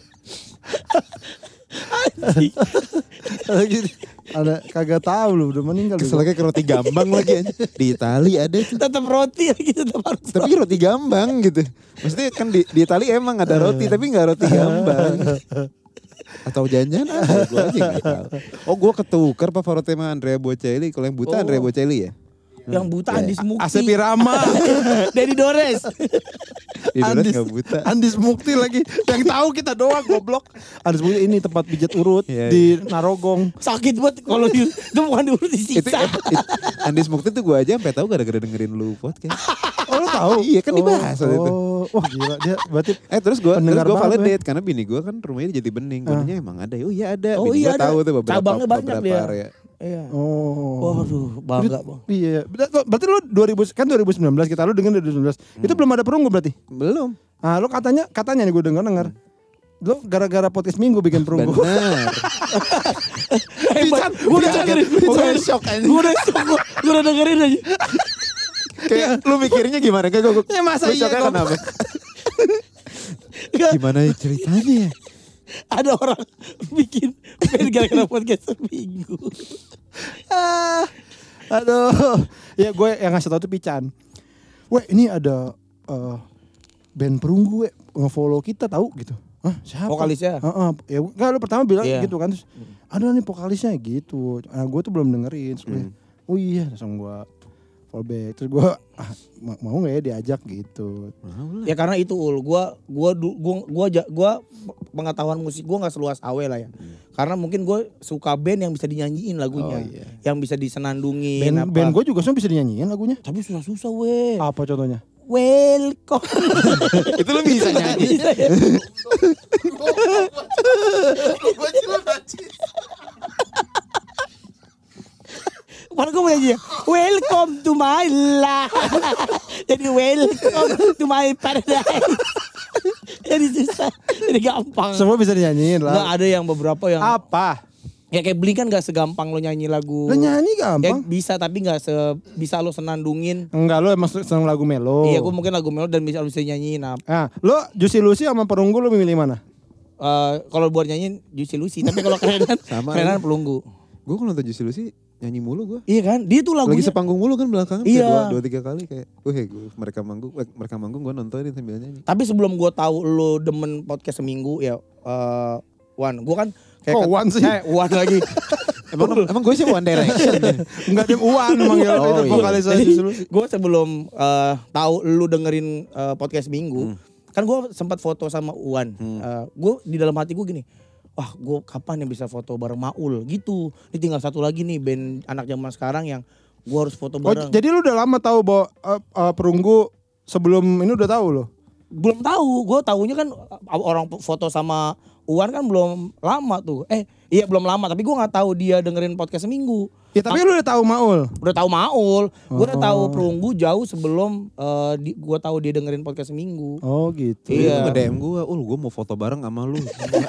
Ada kagak tahu lu udah meninggal. Kesel kayak ke roti gambang lagi aja. Di Itali ada tuh. Tetap roti lagi tetap harus. Tapi roti gambang gitu. Maksudnya kan di, di Itali emang ada roti tapi nggak roti gambang. Atau jangan-jangan ada, gue aja nggak tahu. Oh gue ketukar Pavarotti sama Andrea Bocelli. Kalau yang buta Oh. Andrea Bocelli ya. Yang buta Andi Mukti. Asep Irama. Dedi Dores. Di Dores Andis, nggak buta. Andis Mukti lagi. Yang tahu kita doang goblok. Andis Mukti ini tempat pijat urut Iya, di Narogong. Sakit banget kalau di itu bukan diurut Itu, disiksa. it, it, Andis Mukti tuh gue aja sampai tahu gara-gara dengerin lu podcast. Oh lu tahu? Iya kan dibahas waktu itu. Oh, wah gila dia berarti Eh terus gue terus Pendengar gue banget, validate karena bini gue kan rumahnya di Jatibening. Gue nanya emang ada. Oh iya ada. Oh Bini iya gue ada. tahu tuh beberapa Cabangnya banyak beberapa dia. area. Iya. oh. Waduh, bangga bang. Iya, Ber- berarti lu dua ribu kan dua ribu sembilan belas kita lu dengerin dua ribu sembilan belas. Itu belum ada perunggu berarti. Belum. Ah, lu katanya katanya nih gue denger denger. Lu gara-gara podcast minggu bikin perunggu. Benar. Hebat. Gue udah dengerin. Gue udah shock aja. Gue udah shock. Gue udah dengerin aja. Kayak lu mikirnya gimana? Kayak gue. Ya masa iya, kok. kenapa? Gak, Gimana ceritanya ya? ada orang bikin band gara-gara podcast seminggu. Ah, aduh. Ya gue yang ngasih tau tuh Pican. Weh ini ada eh, band perunggu we nge-follow kita tahu gitu. Hah siapa? Vokalisnya? Heeh. Ya enggak lu pertama bilang Iya. gitu kan. Terus ada nih vokalisnya gitu. Nah gue tuh belum dengerin. Terus gue, oh iya langsung gue fallback. Terus gue ah, ma- mau gak ya diajak gitu. Ya karena itu ul, gua gua du- gua gua ja- gua pengetahuan musik gua nggak seluas Awe lah ya. Karena mungkin gua suka band yang bisa dinyanyiin lagunya, Oh, iya. yang bisa disenandungin Band, apa. band gue juga semua bisa dinyanyiin lagunya. Tapi susah-susah weh. Apa contohnya? Welcome. Itu lu bisa nyanyi. Bisa ya? Mana gue mau nyanyi ya? Welcome to my life. Jadi welcome to my paradise. Jadi susah. Jadi gampang. Semua bisa dinyanyiin Nggak lah. ada yang beberapa yang Apa? Ya kayak Blink kan gak segampang lo nyanyi lagu. Lo nyanyi Ya gampang. bisa tapi gak se bisa lo senandungin. Enggak, lo emang seneng lagu melo. Iya gue mungkin lagu melo dan bisa bisa nyanyiin. Nah, Nah, lo Juicy Lucy sama Perunggu lo milih mana? uh, kalau buat nyanyiin Juicy Lucy, tapi kalau kerenan Sama kerenan Pelunggu. Gue kalau nonton Juicy Lucy nyanyi mulu gue. Iya kan? Dia tuh lagunya Lagi sepanggung mulu kan belakangan Iya. kayak dua, dua tiga kali kayak, wah gue mereka manggung, eh, mereka manggung gue nontonin sambil nyanyi. Tapi sebelum gue tahu lo demen podcast seminggu ya, uh, Wan, gue kan kayak Oh, Wan sih. Eh, Wan lagi. Emang emang gue sih One Direction. Enggak, dia Uwan manggil Oh, itu iya. vokalis Juicy Lucy. Gue sebelum uh, tahu lu dengerin uh, podcast minggu, Hmm. kan gue sempat foto sama Uwan. Hmm. Uh, gue di dalam hati gue gini, wah gue kapan ya bisa foto bareng Maul gitu. Ini tinggal satu lagi nih band anak zaman sekarang yang gue harus foto Oh, bareng. jadi lu udah lama tahu bahwa uh, uh, Perunggu sebelum ini udah tahu lo? Belum tahu, gue tahunya kan uh, orang foto sama Uwan kan belum lama tuh. Eh iya belum lama, tapi gue nggak tahu dia dengerin podcast seminggu. Ya tapi lu udah tahu Maul. Udah tahu Maul, gue udah tahu Oh. Perunggu jauh sebelum uh, di, gue tahu dia dengerin podcast seminggu. Oh gitu. Iya. Dia nge-D M gue, ul gue mau foto bareng sama lu.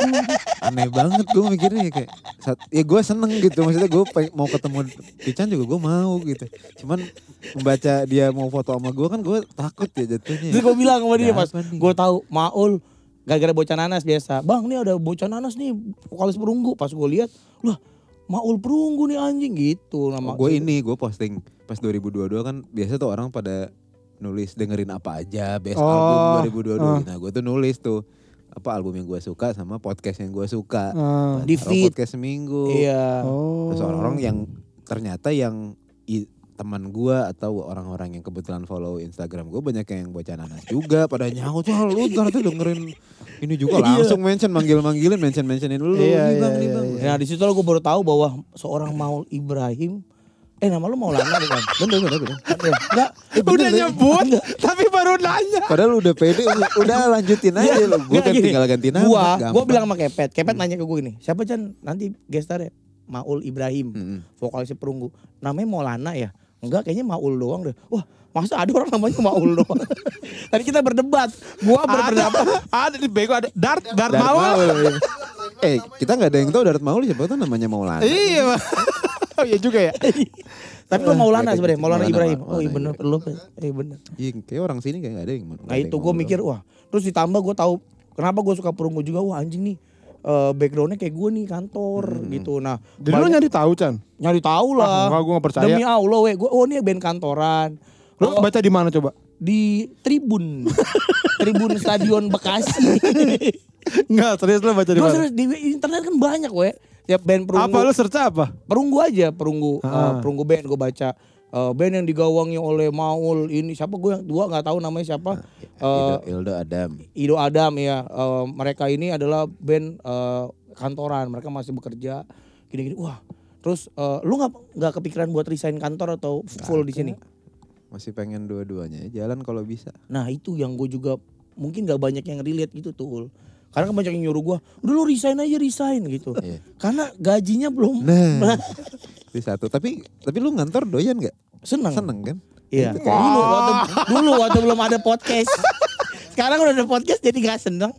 Aneh banget gue mikirnya kayak, saat, ya gue seneng gitu. Maksudnya gue mau ketemu Pican juga gue mau gitu. Cuman membaca dia mau foto sama gue kan gue takut ya jatuhnya. Terus gue bilang sama dia Ada pas apa nih? gue tahu Maul gara-gara bocah nanas biasa. Bang nih ada bocah nanas nih vokalis Perunggu. Pas gue lihat, lah Maul Perunggu nih anjing gitu nama. Gue ini gue posting pas dua ribu dua puluh dua kan biasa tuh orang pada nulis dengerin apa aja best Oh, album dua ribu dua puluh dua. uh. Nah gue tuh nulis tuh apa album yang gue suka sama podcast yang gue suka. Ah. Di Taruh feed. podcast seminggu. Iya. Oh. Terus orang-orang yang ternyata yang i- teman gue atau orang-orang yang kebetulan follow Instagram gue banyak yang bocah nanas juga pada nyaut, wah lu ternyata dengerin ini juga langsung mention manggil-manggilin mention-mentionin lu Iya, nih bang iya, nih iya, bang. iya. Nah di situ gue baru tahu bahwa seorang Maul Ibrahim, eh nama lu Maulana bukan? Bener bener bener. Enggak. Eh, bener, Udah deh. nyebut tapi baru nanya. Padahal udah pede, udah, udah lanjutin aja lu. Gue Nggak, kan gini. tinggal ganti nama. Gua, gampang. gua bilang sama Kepet, Kepet nanya ke gue gini, siapa Chan nanti gestar ya? Maul Ibrahim, Mm-mm. vokalisnya Perunggu. Namanya Maulana ya? Enggak, kayaknya Maul doang deh. Wah, masa ada orang namanya Maul doang? Tadi kita berdebat, gua berpendapat. Ada di bego ada Dart Dart Darat Maul. Maul, iya. Eh kita gak ada yang tahu Darat Maul siapa tuh namanya Maulana. Iya. Oh iya juga ya. Tapi lu Maulana Nggak ada sebenarnya, gitu. Maulana Maulana, Ibrahim. Maulana Oh iya bener, Ibrahim. lu iya bener. Iya kayak orang sini kayak gak ada yang nggak Nah ada itu yang gue Maul mikir, doang. wah terus ditambah gue tahu kenapa gue suka Perunggu juga, wah anjing nih. eh, backgroundnya kayak gue nih kantor gitu. Nah Jadi lu banyak- nyari tahu Chan? nyari tahu Ah, lah. enggak, gua nggak percaya. Demi Allah, weh, gue oh ini band kantoran. Lu Oh, baca di mana coba? di Tribun, Tribun Stadion Bekasi. Enggak, serius lu baca di Gue mana? serius di internet kan banyak, weh. Ya band Perunggu. Apa lu search apa? Perunggu aja, Perunggu, Ah. eh, Perunggu band gue baca. Eh, band yang digawangi oleh Maul ini siapa gue yang dua nggak tahu namanya siapa. Eh, Ildo, Ildo Adam. Ido Adam ya. Eh, mereka ini adalah band eh, kantoran, mereka masih bekerja gini-gini. Wah, terus eh, lu nggak nggak kepikiran buat resign kantor atau full di sini? Masih pengen dua-duanya jalan kalau bisa. Nah itu yang gue juga mungkin gak banyak yang relate gitu tuh. Karena kan banyak yang nyuruh gue, udah lu resign aja resign gitu. Iya. Karena gajinya belum Nah, itu satu. Tapi tapi lu ngantor doyan nggak? seneng. Seneng kan? Iya. Itu Dulu waktu, dulu waktu belum ada podcast. Sekarang udah ada podcast jadi gak seneng.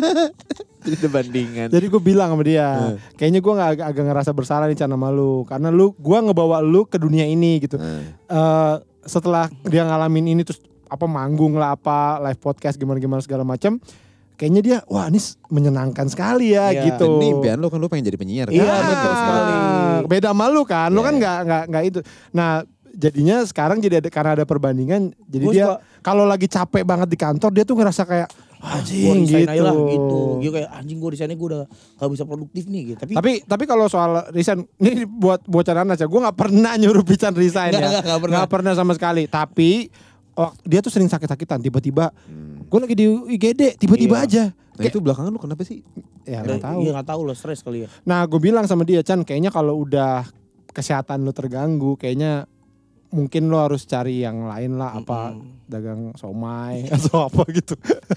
Itu bandingan. Jadi gue bilang sama dia, kayaknya gue nggak agak, agak ngerasa bersalah nih Chan sama lu, karena lu, gue ngebawa lu ke dunia ini gitu. Nah, Eh, setelah dia ngalamin ini terus apa manggung lah apa live podcast gimana gimana segala macam, kayaknya dia wah ini s- menyenangkan sekali ya Iya. gitu. ini impian lu kan lu pengen jadi penyiar kan? Iya, Ah, betul sekali. Beda sama lu kan, lu Iya. kan nggak nggak nggak itu. Nah jadinya sekarang jadi ada, karena ada perbandingan, jadi Gua dia suka- kalau lagi capek banget di kantor dia tuh ngerasa kayak Gue anjing resign gitu. aja lah gitu. Gue kayak anjing gue resign gue udah gak bisa produktif nih gitu. Tapi, Tapi tapi kalau soal resign ini buat bocah nanas ya, gue nggak pernah nyuruh Pican resign Nggak, ya, nggak, nggak pernah. Nggak pernah sama sekali. Tapi oh, dia tuh sering sakit-sakitan, tiba-tiba Hmm. gue lagi di I G D, tiba-tiba Iya. aja. Nah itu belakangan lu kenapa sih? Ya eh, nggak tahu. iya gak tahu loh, stres kali ya. Nah gue bilang sama dia, Chan kayaknya kalau udah kesehatan lu terganggu, kayaknya mungkin lo harus cari yang lain lah, apa dagang somai atau apa gitu.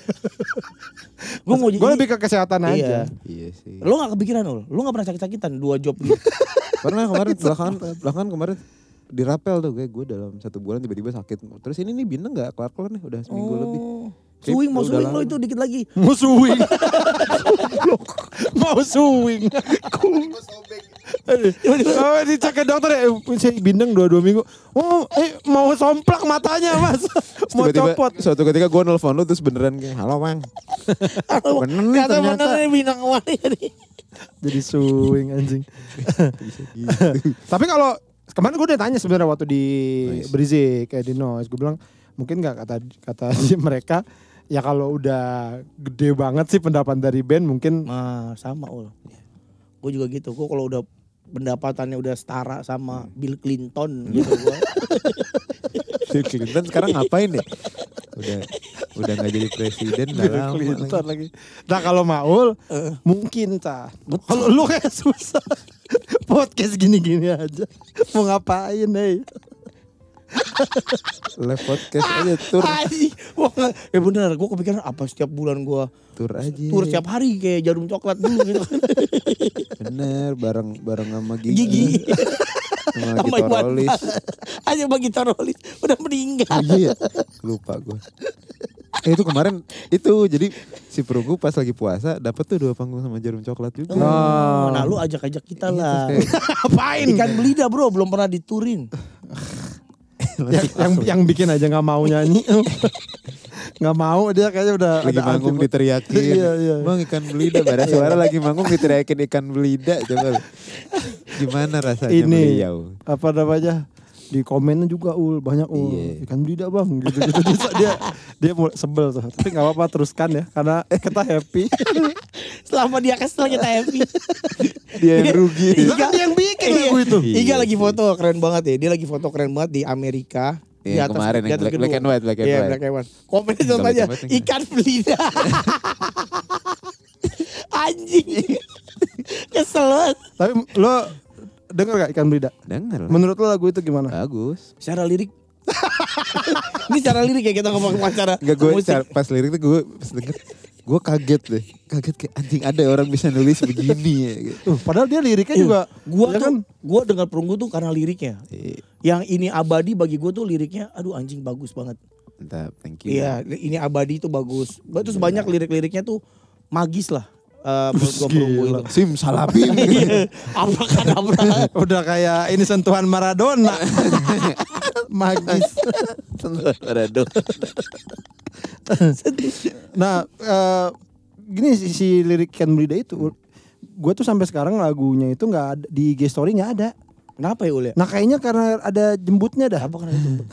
Gue mau Gue jadi- lebih ke kesehatan Iya. aja. Iya sih. Lo gak kepikiran lo? Lo gak pernah sakit-sakitan dua job gitu? Pernah kemarin belakangan belakangan kemarin di rapel tuh gue gue dalam satu bulan tiba-tiba sakit. Terus ini nih bintang nggak kelar-kelar nih udah seminggu lebih. Swing mau Udah swing lo lama. itu dikit lagi. Mau swing. Mau swing. Oh, dicek ke dokter ya, eh, saya bindeng dua dua minggu. Oh, eh mau somplak matanya mas, mau Tiba-tiba copot. suatu ketika gue nelfon lu terus beneran kayak, halo bang. Bener nih Ternyata ternyata. bener nih bintang awalnya nih. Jadi swing anjing. Bisa gitu. Tapi kalau kemarin gue udah tanya sebenarnya waktu di Nice. Brizik kayak di Noise, gue bilang mungkin nggak kata kata mereka ya kalau udah gede banget sih pendapatan dari band mungkin Nah sama ul. Gue juga gitu. Gue kalau udah pendapatannya udah setara sama Bill Clinton gitu gue. Bill Clinton sekarang ngapain ya? Udah udah nggak jadi presiden udah Bill lama Clinton lagi. lagi. Nah kalau Maul mungkin ta. Kalau lu kayak susah podcast gini-gini aja mau ngapain nih? Live podcast aja tur Ay, wah, eh bener, gue kepikiran apa setiap bulan gue tur aja. tur setiap hari kayak jarum coklat dulu gitu. Bener bareng bareng sama Gigi. Gigi. Sama Sama Gito Iwan Rolis. Fals. Aja bagi Rolis udah meninggal. Iya, lupa gue. Eh itu kemarin itu jadi si perunggu pas lagi puasa dapat tuh dua panggung sama Jarum Coklat juga. Oh, nah lu ajak-ajak kita Iya, lah. terus kayak- Ngapain? Ikan belida bro, belum pernah diturin. yang, yang yang bikin aja nggak mau nyanyi, nggak mau dia kayaknya udah lagi ada manggung anti- diteriakin. Iya, iya. Bang ikan belida, bara suara lagi manggung diteriakin ikan belida coba. Gimana rasanya Ini beliau? apa namanya di komennya juga ul banyak ul Iya. ikan belida bang gitu gitu dia dia, dia mulai sebel tuh tapi nggak apa-apa teruskan ya karena kita happy. Selama dia kesel kita happy. Dia yang rugi. Itu kan dia yang bikin lagu itu. Iya Iga lagi sih. foto keren banget ya. Dia lagi foto keren banget di Amerika. Di Iya, kemarin yang black- black and white, black and Iya, white. black and white. Komennya Nggak contoh aja black and white, ikan belida. Anjing. Kesel banget. Tapi lo denger gak ikan belida? Dengar lah. Menurut lo lagu itu gimana? Bagus. Secara lirik. Ini secara lirik ya kita ngomong acara Enggak gue musik. pas lirik tuh gue pas denger gue kaget deh. Kaget kayak anjing ada orang bisa nulis begini ya gitu. Tuh, padahal dia liriknya juga Gua ya tuh, kan gua dengar perunggu tuh karena liriknya. Eh, Yang ini abadi bagi gue tuh liriknya, aduh anjing bagus banget. Entah, thank you. Iya, ini abadi itu bagus. Terus banyak lirik-liriknya tuh magis lah. Eh menurut gue perunggu itu. Sim salabim. Iya, abrakadabra. udah kayak ini sentuhan Maradona. Magis. Aduh. Nah, eh, gini si, si lirik ikan belida itu gue tuh sampai sekarang lagunya itu nggak ada di I G story nggak ada. Kenapa ya Ul ya? Nah kayaknya karena ada jembutnya dah. Apa karena itu?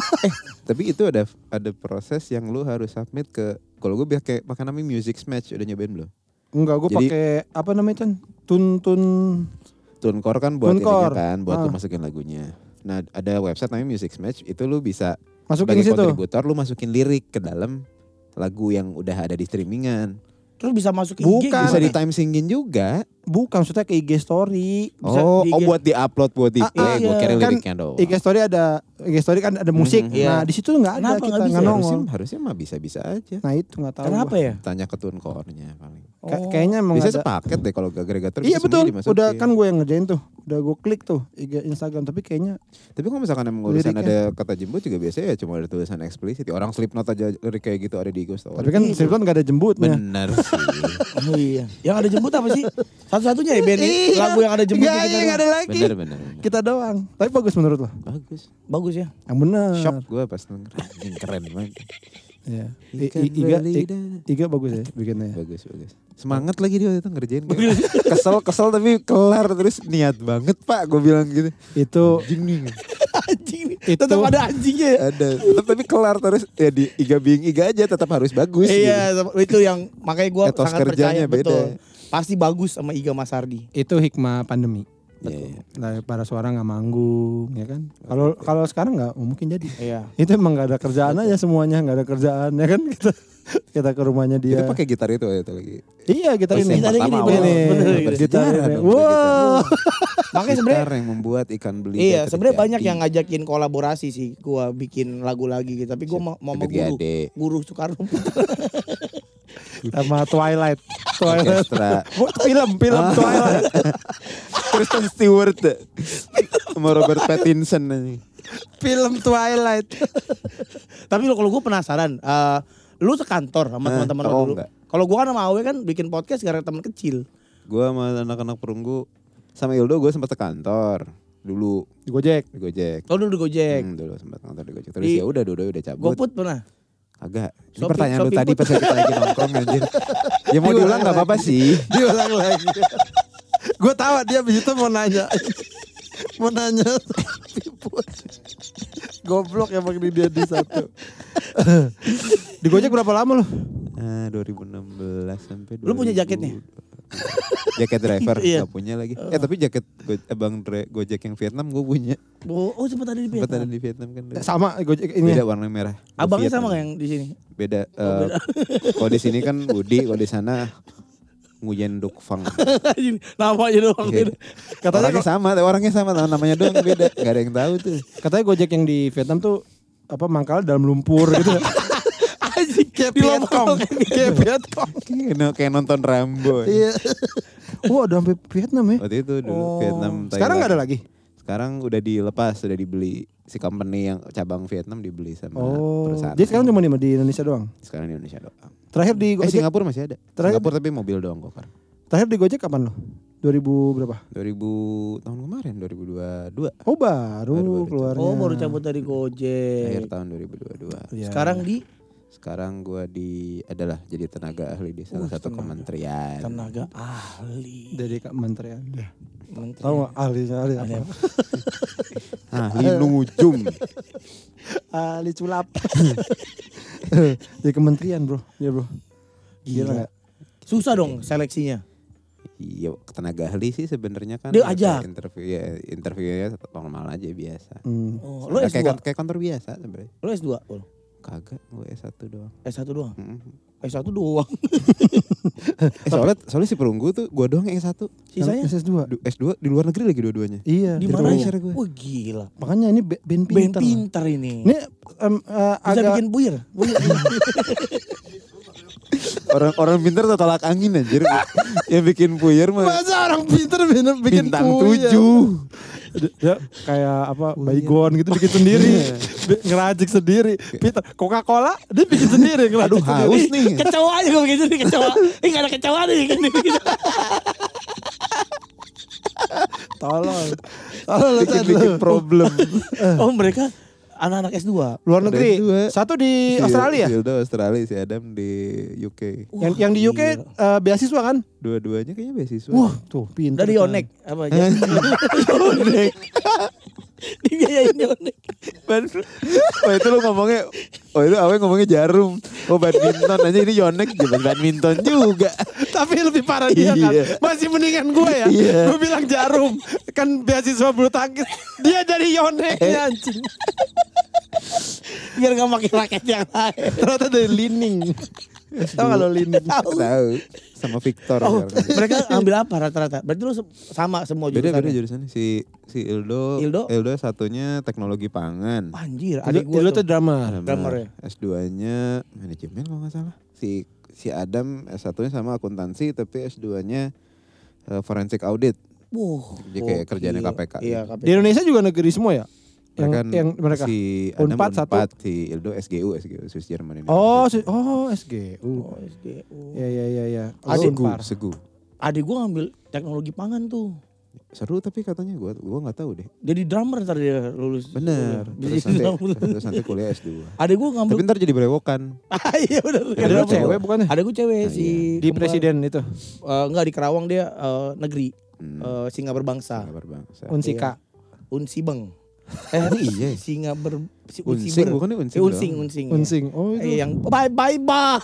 Tapi itu ada ada proses yang lu harus submit ke kalau gue pakai pakai namanya Music Match udah nyobain belum? Enggak, gue Jadi- pakai apa namanya Chan? Tun tun. TuneCore kan buat ininya TuneCore. kan, buat lu Ah. masukin lagunya. Nah, ada website namanya Music Match, itu lu bisa Masukin sebagai situ. kontributor lu masukin lirik ke dalam lagu yang udah ada di streamingan. Terus bisa masuk ke I G Bukan. Bisa gimana? di time singin juga. Bukan, maksudnya ke I G story. Bisa Oh, di oh I G. buat di-upload buat di Ah, play, ah, gue iya. kira Kan liriknya doang. I G story ada I G story kan ada musik. Mhm, iya. Nah, di situ nggak ada Kenapa kita nggak bisa? nggak harusnya, nongol. harusnya mah bisa-bisa aja. Nah, itu nggak tahu. Kenapa gua. ya? Tanya ke TuneCore-nya paling. Ka- Oh. Kayaknya emang Bisa ada. sepaket deh kalau agregator. Iya bisa betul. semuanya dimasukin. Udah kan gue yang ngerjain tuh. Udah gue klik tuh I G Instagram, tapi kayaknya Tapi kalau misalkan emang urusan Liriknya. ada kata jembut juga biasanya ya cuma ada tulisan eksplisit. Orang Slipknot aja lirik kayak gitu ada di I G Story. tapi kan Slipknot nggak ada jembutnya. bener sih. Oh iya. Yang ada jembut apa sih? Satu-satunya ya band ini, Iya. lagu yang ada jembut Nggak, kita iya, nggak doang. ada lagi. bener, bener, bener. Kita doang. Tapi bagus menurut lo? Bagus. Bagus ya. Yang benar. Shock gue pas denger. Anjing, keren banget. Iya. I- Ikan I- Iga, I- belida. Iga bagus ya bikinnya. Bagus, bagus. Semangat lagi dia waktu itu ngerjain. Kayak, kesel, kesel tapi kelar. Terus niat banget pak gue bilang gitu. Itu Anjing nih. Anjing. Itu- Tetap ada anjingnya ya. Ada. Tetap tapi kelar terus. Ya di Iga being Iga aja tetap harus bagus. gitu. Iya, itu yang makanya gue Etos sangat kerjanya percaya betul. beda. Pasti bagus sama Iga Masardi. itu hikmah pandemi. Iya, iya. Nah, para suara nggak manggung, ya kan? Kalau kalau sekarang nggak mungkin jadi. Iya. Itu emang nggak ada kerjaan aja semuanya, nggak ada kerjaan, ya kan? Kita kita ke rumahnya dia. Itu pakai gitar itu waktu itu lagi. Iya, gitar Pas ini. yang Gitar ini, pertama bener, awal. bener, Nah, bener. Gitar bersejarah ini. dong, pakai gitar. Wow. Makanya sebenarnya Gitar yang membuat ikan belida iya, sebenarnya terjadi. banyak yang ngajakin kolaborasi sih. Gua bikin lagu lagi gitu, tapi gua mau mau sama David guru. Gade. Guru Soekarno. Sama Twilight. Twilight. Orkestra. Bu, film, film Twilight. Kristen Stewart sama Robert Pattinson nih. Film Twilight. Tapi lo kalau gue penasaran, eh, lu sekantor sama Eh, teman-teman lo oh, dulu. enggak. Kalau gua kan sama Awe kan bikin podcast gara-gara teman kecil. Gua sama anak-anak perunggu sama Ildo gue sempat ke kantor dulu Di Gojek. di Gojek. Oh dulu di Gojek. Hmm, dulu sempat kantor di Gojek. Terus Di- ya udah dua udah cabut. GoFood pernah? Agak. Ini Shopee- pertanyaan lu Shopee tadi Food. pas kita lagi nongkrong anjir. Ya mau diulang enggak apa-apa sih. Diulang lagi. Gue tahu dia abis itu mau nanya. Mau nanya. Goblok emang di dia di satu. Di Gojek berapa lama lu? Ah, dua ribu enam belas sampai Lu punya jaketnya? Jaket driver Iya. gak punya lagi. Eh tapi jaket go, abang Dre- Gojek yang Vietnam gue punya. Oh, oh sempat ada di Sempat ada Vietnam. di Vietnam kan. Sama Gojek ini. Beda warna merah. Abangnya Vietnam. sama gak yang di sini? Beda. eh, Kalau di sini kan Budi, kalau di sana Nguyen Duk Fang. Namanya doang. Iya. Katanya Orangnya sama, orangnya sama, namanya doang beda. Gak ada yang tahu tuh. Katanya Gojek yang di Vietnam tuh apa mangkal dalam lumpur gitu. Anjing, Kayak di Vietcong. lompat. Kayak Vietcong. Kayak kayak nonton Rambo. Iya. Wah, udah sampai Vietnam ya. Waktu itu dulu Oh. Vietnam. Sekarang nggak ada Thailand. lagi. Sekarang udah dilepas, sudah dibeli si company yang cabang Vietnam dibeli sama Oh. perusahaan. Jadi sekarang cuma di, di Indonesia doang. Sekarang di Indonesia doang. Terakhir di Eh Gojek. Singapura masih ada. Terakhir- Singapura tapi mobil doang gokar. Terakhir di Gojek kapan lo? dua ribu berapa? dua ribu tahun kemarin dua ribu dua puluh dua. Oh, baru, Baru-baru keluarnya. Oh baru cabut dari Akhir Gojek. tahun dua ribu dua puluh dua. Iya. Sekarang di Sekarang gua di adalah jadi tenaga ahli di salah Uh, satu tenaga. kementerian. tenaga ahli. dari kementerian. Menteri. Tahu nggak ahli ahli apa? Ahli nujum. Ahli sulap. Di kementerian, Bro. Iya, Bro. Gila enggak? Susah dong seleksinya. Iya, tenaga ahli sih sebenarnya kan Dia kayak ajak. interview ya, interviewnya normal aja biasa. Hmm. Oh, lo Nah, S dua. kayak, kayak kantor biasa sebenarnya. Lo S dua. Lo Kagak, gue S satu doang. S satu doang. Mm-mm. S satu doang. Eh, soalnya, soalnya si perunggu tuh gue doang yang S satu. Sisanya S S dua. Du- S dua di luar negeri lagi dua-duanya. Iya. di itu. mana pressure ya? gue. Wah gila. Makanya ini be- band Band pinter. pintar ini. Ini em, eh, Bisa agak bikin buyar. Buyar. Orang-orang pintar tuh tolak angin anjir. Yang bikin puyer mah masa orang pinter bener bikin bintang puyer? tujuh. Ya kayak apa baygon gitu bikin sendiri, Bi- ngeracik sendiri. Pinter Coca-Cola dia bikin sendiri ngeracik Aduh sendiri. haus nih. Kecoa aja gue bikin sendiri kecoa. Eh gak ada kecoa nih. Tolong. Tolong lu Chan, Bikin-bikin lu. problem. Oh mereka anak-anak S dua. Luar Ada negeri. dua. Satu di Australia. Si Ildo Australia, si Adam di U K. Yang yang di U K eh, beasiswa kan? Dua-duanya kayaknya beasiswa. Wah, tuh pinter. Dari Chan. Yonek apa aja? Yonek. Dibiayain Yonek. Oh itu lu ngomongnya, oh itu awalnya ngomongnya jarum. Oh badminton aja ini Yonek juga badminton juga. Tapi lebih parah dia kan. Iya. Masih mendingan gue ya. Iya. Gue bilang jarum. Kan beasiswa bulu tangkis. Dia dari Yonek ya anjing. Biar gak pakai raket yang lain. Ternyata dari Lining. Tahu gak lo Lining? Tahu. Tahu sama Victor. Oh, sekarang. mereka ambil apa rata-rata? Berarti lu se- sama semua jurusan. Beda-beda jurusannya. Si si Ildo, Ildo? satunya teknologi pangan. Anjir, Adik adik gue gua tuh tuh. drama. Drummer ya? S dua-nya manajemen kalau nggak salah. Si si Adam S satunya sama akuntansi tapi S dua-nya uh, forensic audit. Wuh, Jadi kayak gokil. kerjaannya K P K. Iya, K P K. Di Indonesia juga negeri semua ya? Yang, Mereka, yang mereka. si Adam Unpad satu. Unpad, si Ildo S G U, S G U Swiss German ini. Oh, si- oh S G U. Oh, S D U. Ya ya ya ya. Adik- Segu, Unpar. Segu. Adik gua ngambil teknologi pangan tuh. Seru tapi katanya gua gua nggak tahu deh. Jadi drummer ntar dia lulus. Bener. Bisa Terus jadi nanti, drummer. terus nanti kuliah S dua. Adik gua ngambil. Tapi ntar jadi berewokan. Ah, iya benar. Ada Adik gua cewek bukannya? Adik gua cewek Ah, si Di kembar- presiden itu. Eh, enggak di Kerawang dia eh, negeri. Hmm. Eh, Singa berbangsa. Kabar bangsa. Unsika. Unsibeng. Eh, iya. Singa ber si Unsing Unsiber. bukannya unsing. Eh, unsing, doang. unsing. ya. Unsing. Oh Eh, itu. yang bye bye bye.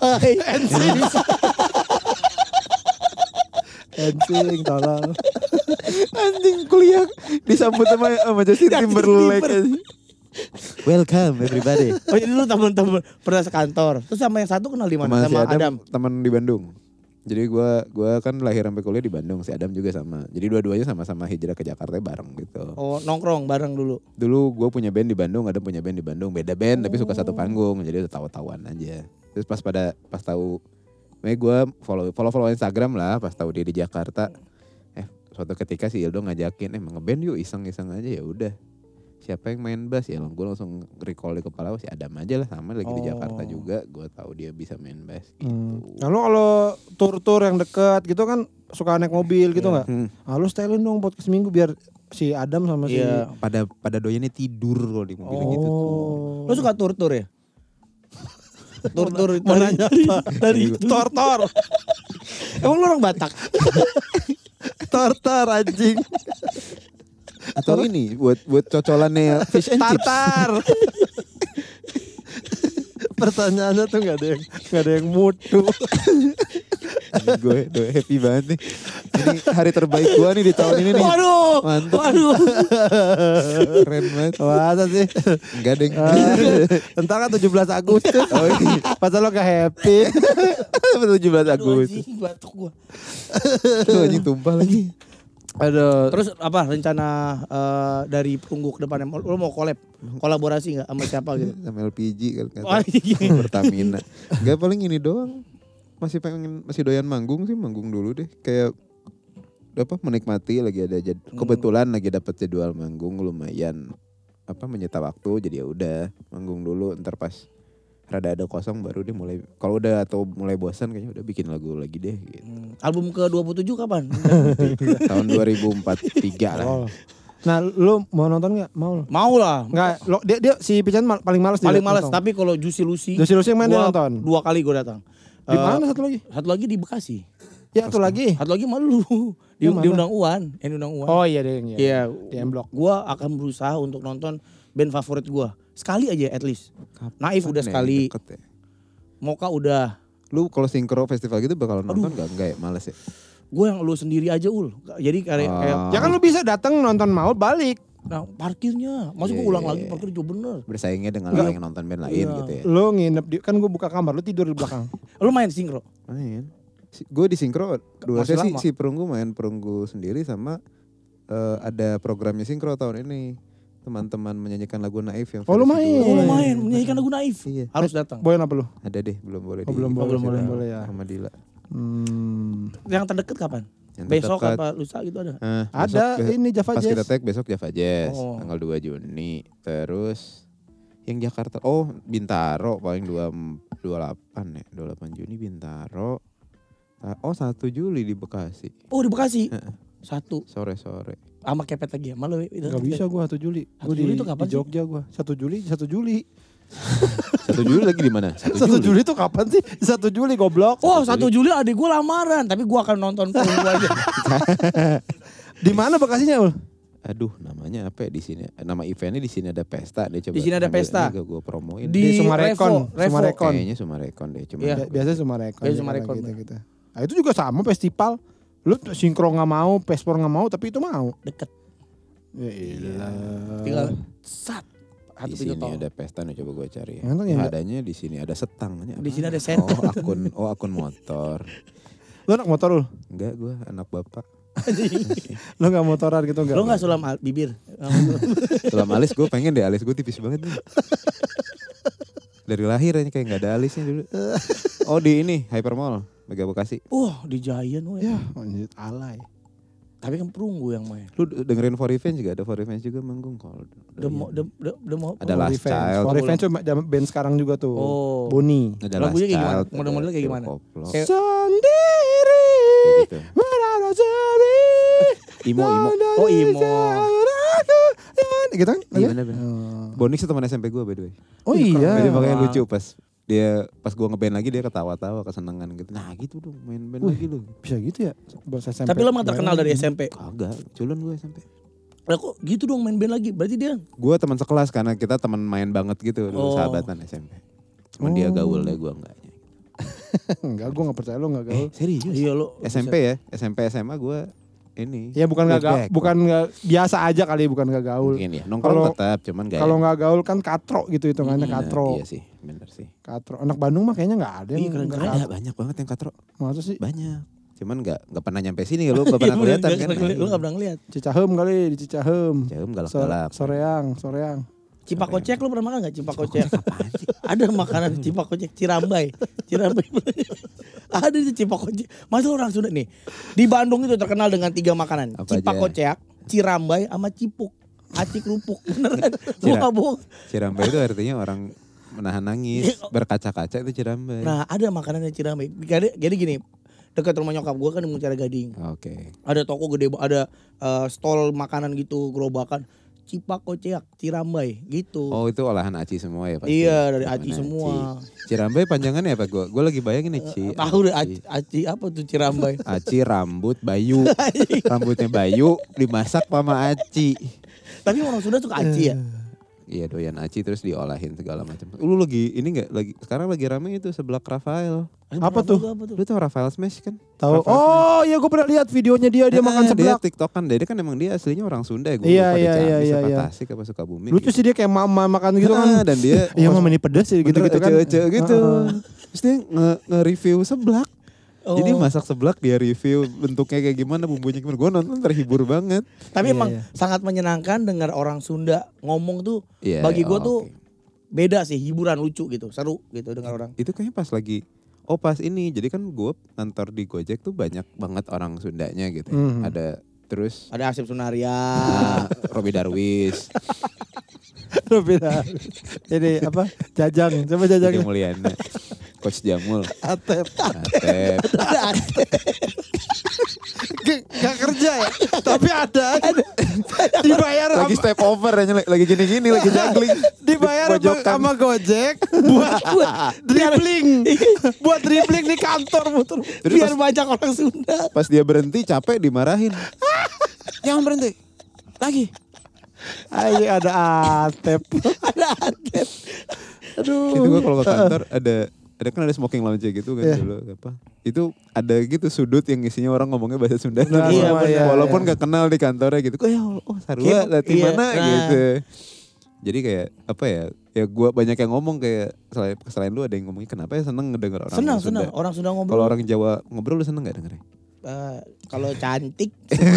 Unsing tolong. Anjing kuliah disambut sama sama Justin Timberlake. anjing. Welcome everybody. Oh jadi lu teman-teman pernah sekantor. Terus sama yang satu kenal di mana? Sama si Sama Adam, Adam. teman di Bandung. Jadi gua gua kan lahir sampai kuliah di Bandung, si Adam juga sama. Jadi dua-duanya sama-sama hijrah ke Jakarta bareng gitu. Oh nongkrong bareng dulu. Dulu gua punya band di Bandung, Adam punya band di Bandung, beda band tapi suka satu panggung. Jadi udah tahu-tahuan aja. Terus pas pada pas tahu Makanya gue follow follow follow Instagram lah pas tahu dia di Jakarta. Eh suatu ketika si Ildo ngajakin eh ngeband yuk iseng-iseng aja ya udah. siapa yang main bass ya, gue langsung recall di kepala si Adam aja lah, sama lagi di Oh. Jakarta juga, gue tahu dia bisa main bass gitu. Hmm. Lalu kalau tur-tur yang dekat gitu kan suka naik mobil gitu nggak? Hmm. Ah, lu stylein dong podcast minggu biar si Adam sama si Iya. Pada pada doyannya tidur kalau di mobil gitu tuh. Oh. Lo suka tur-tur ya? Tur-tur Mau dari, nanya dari, apa? dari Tor-tor. Emang lu orang Batak? Tor-tor anjing. Atau ini buat buat cocolannya fish and chips. Tartar. Pertanyaannya tuh nggak ada yang nggak ada yang mutu. Gue gue happy banget nih. Ini hari terbaik gue nih di tahun ini nih. Waduh, Mantap. waduh. Keren banget. Masa sih? Enggak deh. Entar kan tujuh belas Agustus. Oh iya. Pas lo gak happy. tujuh belas Aduh, Agustus. anjing, batuk gua. Aduh anjing tumpah lagi. Aduh. Terus apa rencana eh, dari Perunggu ke depannya? Lo mau collab? Kolaborasi nggak sama siapa gitu? Sama L P G kan kata. Oh, iya. Pertamina. Enggak, paling ini doang. Masih pengen masih doyan manggung sih, manggung dulu deh. Kayak apa menikmati lagi ada jad, kebetulan lagi dapat jadwal manggung lumayan apa menyita waktu, jadi ya udah manggung dulu, ntar pas rada ada kosong baru deh mulai, kalau udah atau mulai bosan kayaknya udah bikin lagu lagi deh gitu. Hmm, album ke dua puluh tujuh kapan? Tahun dua ribu empat puluh tiga lah. Oh. Nah, lu mau nonton nggak? Mau. Mau lah. Nggak, lo dia dia si Pican mal- paling malas dia Paling males. nonton. Tapi kalau Juicy Lucy, Juicy Lucy yang main dia gua nonton. Dua kali gue datang. Di Eh, mana satu lagi? Satu lagi di Bekasi. Ya, satu lagi. Satu lagi malu. Di, Yang mana? diundang Uwan. Yang diundang Uwan. Oh iya deh. Iya. Di M Block. Gue akan berusaha untuk nonton band favorit gue. Sekali aja at least. Naif udah Kapan ya? sekali. Deket ya? Moka udah. Lu kalau sinkro festival gitu bakal nonton nggak? Enggak ya, males ya. Gue yang lu sendiri aja ul. Jadi kayak, Oh. kayak Ya kan lu bisa datang nonton Maut balik. nah parkirnya. Masa Iya, gue ulang iya, lagi iya. parkir juga bener. Bersaingnya dengan Enggak. orang yang nonton band lain Iya. gitu ya. Lu nginep di kan gue buka kamar, lu tidur di belakang. Lu main sinkro? Main. Si, gue di sinkro dua Masih sesi, lama. si Perunggu main Perunggu sendiri sama eh, ada programnya sinkro tahun ini. Teman-teman menyanyikan lagu Naif yang Oh, lu versi main. dua. Oh lu main menyanyikan lagu Naif. Iya. Harus datang. Boyan apa lu? Ada deh, belum boleh Oh, di belum boleh, belum belum boleh. boleh ya. sama Dila. Hmm. Yang terdekat kapan? Yang Besok terdekat, apa lusa gitu ada? eh, Ada besok- ini Java pas Jazz. kita tag besok Java Jazz Oh. tanggal dua Juni. Terus yang Jakarta, oh Bintaro paling dua puluh delapan ya, dua puluh delapan Juni Bintaro. Ah, Oh satu Juli di Bekasi, Oh di Bekasi. Heeh. Satu. sore-sore. Sama kepet lagi ya? Malu itu. Gak bisa gua satu Juli. satu Gua di, Juli itu kapan di Jogja gua. satu Juli, satu Juli. satu Juli lagi di mana? satu Juli tuh kapan sih? satu Juli goblok. Oh satu Juli adik gue lamaran. Tapi gue akan nonton Perunggu aja. Di mana Bekasinya, Ul? Aduh, namanya apa ya di sini? Nama eventnya di sini ada pesta deh, coba. Di sini ada ambil pesta. ini gak gue promoin. Di Di Sumarekon, Revo, Revo. Sumarekon. Kayaknya Sumarekon deh, cuma Iya. Bi- Biasanya Sumarekon. Biasanya ya, Sumarekon, gitu, bener. gitu. Nah, itu juga sama festival. Lu sinkro nggak mau, pespor nggak mau, tapi itu mau. Deket. Ya ilah. Tinggal sat. di Satu pintu sini tol. ada pesta nih, coba gue cari. Ya. Emang Ya, yang- adanya di sini ada setangnya. Di sini ada sen. Oh akun, oh akun motor. Lu anak motor, Ul? Enggak, gue anak bapak. Lu nggak motoran gitu nggak? Lo gak sulam al- bibir? Dalam alis gue pengen deh, alis gue tipis banget nih. Dari lahir aja kayak nggak ada alisnya dulu. Oh di ini Hypermall, Mega Bekasi. Wah di Giant woy. Ya, anjir alay. Tapi kan Perunggu yang main. Lu dengerin For Revenge juga, ada For Revenge juga manggung kalau. Udah mau, udah, udah, udah mau. Ada Last Child. For Revenge tuh jam- band sekarang juga tuh. Oh. Boni. Ada Lagunya Last kayak gimana? Child, Model-modelnya kayak ada gimana? Koplo. Kayak- Sendiri. Kayak gitu. Berada sendiri. Imo, imo. Oh, imo. Gitu kan? Iya bener-bener. Oh. Bonix itu teman S M P gue by the way. Oh iya. Jadi makanya Wah. lucu pas dia pas gue ngeband lagi dia ketawa-tawa kesenangan gitu. Nah gitu dong main band Wih. lagi lu. Bisa gitu ya? Bahasa S M P. Tapi lo emang terkenal dari S M P. Kagak, culun gue S M P. Lah kok gitu dong main band lagi? Berarti dia Gue teman sekelas karena kita teman main banget gitu dulu, Oh. sahabatan S M P. Cuman dia Oh. gaul deh, gue enggaknya. Enggak, gue gak percaya lo gak gaul. Serius? iya lo S M P ya, S M P S M A gue ini. Ya bukan gak gaul, flashback. bukan gak, biasa aja kali, bukan gak gaul. Mungkin ya, nongkrong Kalau- tetap, cuman gak Kalau gak gaul kan katro gitu hitungannya, Nah, katro. Iya sih, bener sih. Katro. Anak Bandung mah kayaknya gak ada Iya, yang keren-keren. nggak Ada katro. banyak banget yang katro, Masa sih? banyak. Cuman gak, gak pernah nyampe sini ya, lu gak pernah kelihatan kan. Lo gak pernah ngeliat. Cicahem kali, di Cicahem. Jauh So- galak-galak. Soreang, Soreang. Cipakocek lo pernah makan gak Cipakocek? Ada makanan Cipakocek, Cirambai. Cirambai. Ada di Cipakocek. Masa orang Sunda nih. Di Bandung itu terkenal dengan tiga makanan. Apa aja? Cipakocek, Cirambai, sama Cipuk. aci kerupuk beneran. Gua Cira- enggak bohong. Cirambai itu artinya orang menahan nangis, berkaca-kaca itu Cirambai. Nah, ada makanannya Cirambai. Jadi, jadi gini, dekat rumah nyokap gua kan di Mutiara Gading. Oke. Ada toko gede, ada uh, stol makanan gitu, gerobakan. Cipakoceak, Cirambai gitu. Oh itu olahan aci semua ya pasti. Iya, dari Olahan aci semua. Cirambai panjangannya apa gue? Gue lagi bayangin nih Ci. Tahu deh aci, aci apa tuh Cirambai? Aci rambut Bayu. Rambutnya Bayu dimasak sama aci. Tapi orang Sunda suka aci ya? Iya doyan aci terus diolahin segala macam. Lu lagi ini nggak lagi sekarang lagi rame itu seblak Rafael. Apa tuh? Apa tuh? Lu tau Rafael Smash kan? Tahu. Rafael Oh, iya gue pernah lihat videonya dia dia Ah, makan seblak. Dia TikTok kan, dia kan emang dia aslinya orang Sunda ya. Gue Iya, lupa iya, di Ciamis iya, iya, apa iya. Tasik apa Sukabumi. Lucu sih dia kayak mama makan gitu kan. Ah, dan dia Iya mama ini pedas sih gitu-gitu kan. Ece-ece gitu. Heeh. Terus dia nge- nge-review seblak. Oh. Jadi masak seblak dia review bentuknya kayak gimana, bumbunya gimana. Gue nonton terhibur banget. Tapi Iya, emang iya. sangat menyenangkan dengar orang Sunda ngomong tuh. Iya, Bagi gue oh, tuh oke. beda sih, hiburan lucu gitu, seru gitu dengar orang. Itu kayaknya pas lagi, oh pas ini. Jadi kan gue kantor di Gojek tuh banyak banget orang Sundanya gitu. ya. Mhm. Ada terus Ada Asep Sunaria. ah, Robi Darwis, Beda. Ini apa? Jajang. Coba Jadi jajang. Mulyana, Coach Jamul, Atep. Atep. Ada Asep. Gak, gak kerja ya, tapi ada, dibayar Lagi sama, step over aja, lagi gini-gini, lagi juggling. dibayar sama, Pojokan. sama Gojek buat dribbling, buat dribbling di kantor muter. Terus Biar pas, banyak orang Sunda. pas dia berhenti capek dimarahin. Jangan berhenti. Lagi. Ayo ada Atep. Ada Asep. Aduh. Itu gue kalau ke kantor ada ada kan ada smoking lounge gitu kan Iya. dulu apa. Itu ada gitu sudut yang isinya orang ngomongnya bahasa Sunda. Nah, Iya, Walaupun- benar. Walaupun gak kenal di kantornya gitu. Kok ya oh Sarua Kayak- latih iya, mana nah. gitu. Jadi kayak apa ya? Ya gue banyak yang ngomong kayak selain, selain lu ada yang ngomongnya kenapa ya seneng ngedenger orang Senang, Sunda. senang. Orang Sunda ngobrol. Kalau orang Jawa ngobrol lu seneng gak dengernya? Eh, kalau cantik.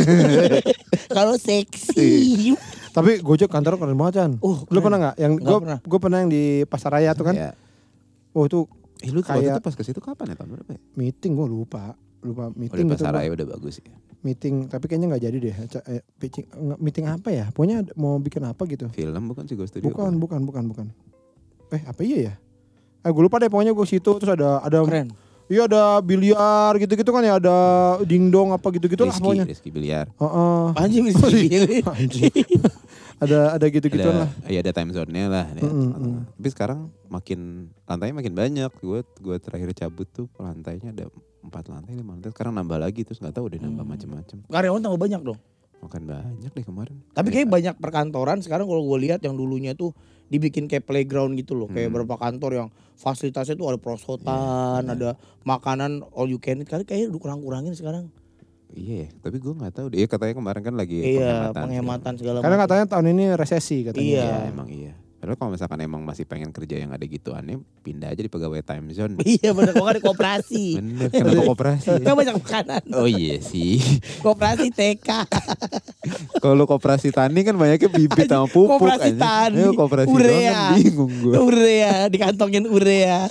Kalau seksi. Tapi Gojek kantor keren banget Chan. Oh, Lu keren. pernah nggak? Yang Nggak gue pernah. gue pernah yang di Pasar Raya tuh kan. Ya. Oh itu Eh lu waktu Kayak- itu pas ke situ kapan ya? Tahun berapa ya? meeting gue lupa. Lupa Oh, meeting di gitu. Pasaraya gua. udah bagus ya. Meeting tapi kayaknya nggak jadi deh. Ca- eh, pitching, nggak, meeting apa ya? Pokoknya ada- mau bikin apa gitu. Film bukan sih Ghost Studio? Bukan, bukan, bukan, bukan. Eh apa iya ya? Eh gue lupa deh pokoknya gue situ terus ada ada Keren. iya ada biliar gitu-gitu kan ya ada dingdong apa gitu-gitu lah Rizky, pokoknya. Rizky Biliar. Heeh. Anjing bisa dipilih. Anjing. ada ada gitu-gituan lah. Ada, ya ada time zone-nya lah. ya. Mm, mm. Tapi sekarang makin lantainya makin banyak. Gue gue terakhir cabut tuh lantainya ada empat lantai, lima lantai. Sekarang nambah lagi terus nggak tahu udah nambah Hmm. macam-macam. Karyawan tambah banyak dong. Makan banyak deh kemarin. Tapi Kayak- kayak banyak perkantoran sekarang kalau gue lihat yang dulunya tuh dibikin kayak playground gitu loh. Kayak Hmm. beberapa kantor yang fasilitasnya tuh ada prosotan, Iya, ada makanan all you can eat. Kali kayak udah kurang-kurangin sekarang. Iya, ya, tapi gue nggak tahu. Dia katanya kemarin kan lagi Iya, penghematan. penghematan segala Karena macam. katanya tahun ini resesi katanya. Iya. Iya, emang iya. Padahal kalau misalkan emang masih pengen kerja yang ada gituannya, pindah aja di pegawai time zone. Iya bener, kok ada koperasi. Bener, kenapa koperasi ya? Kan banyak makanan. Oh iya sih. Koperasi T K. Kalau koperasi tani kan banyaknya bibit sama pupuk. Koperasi anjing. tani, Ayo, koperasi urea. doang kan bingung gue. Urea, dikantongin urea.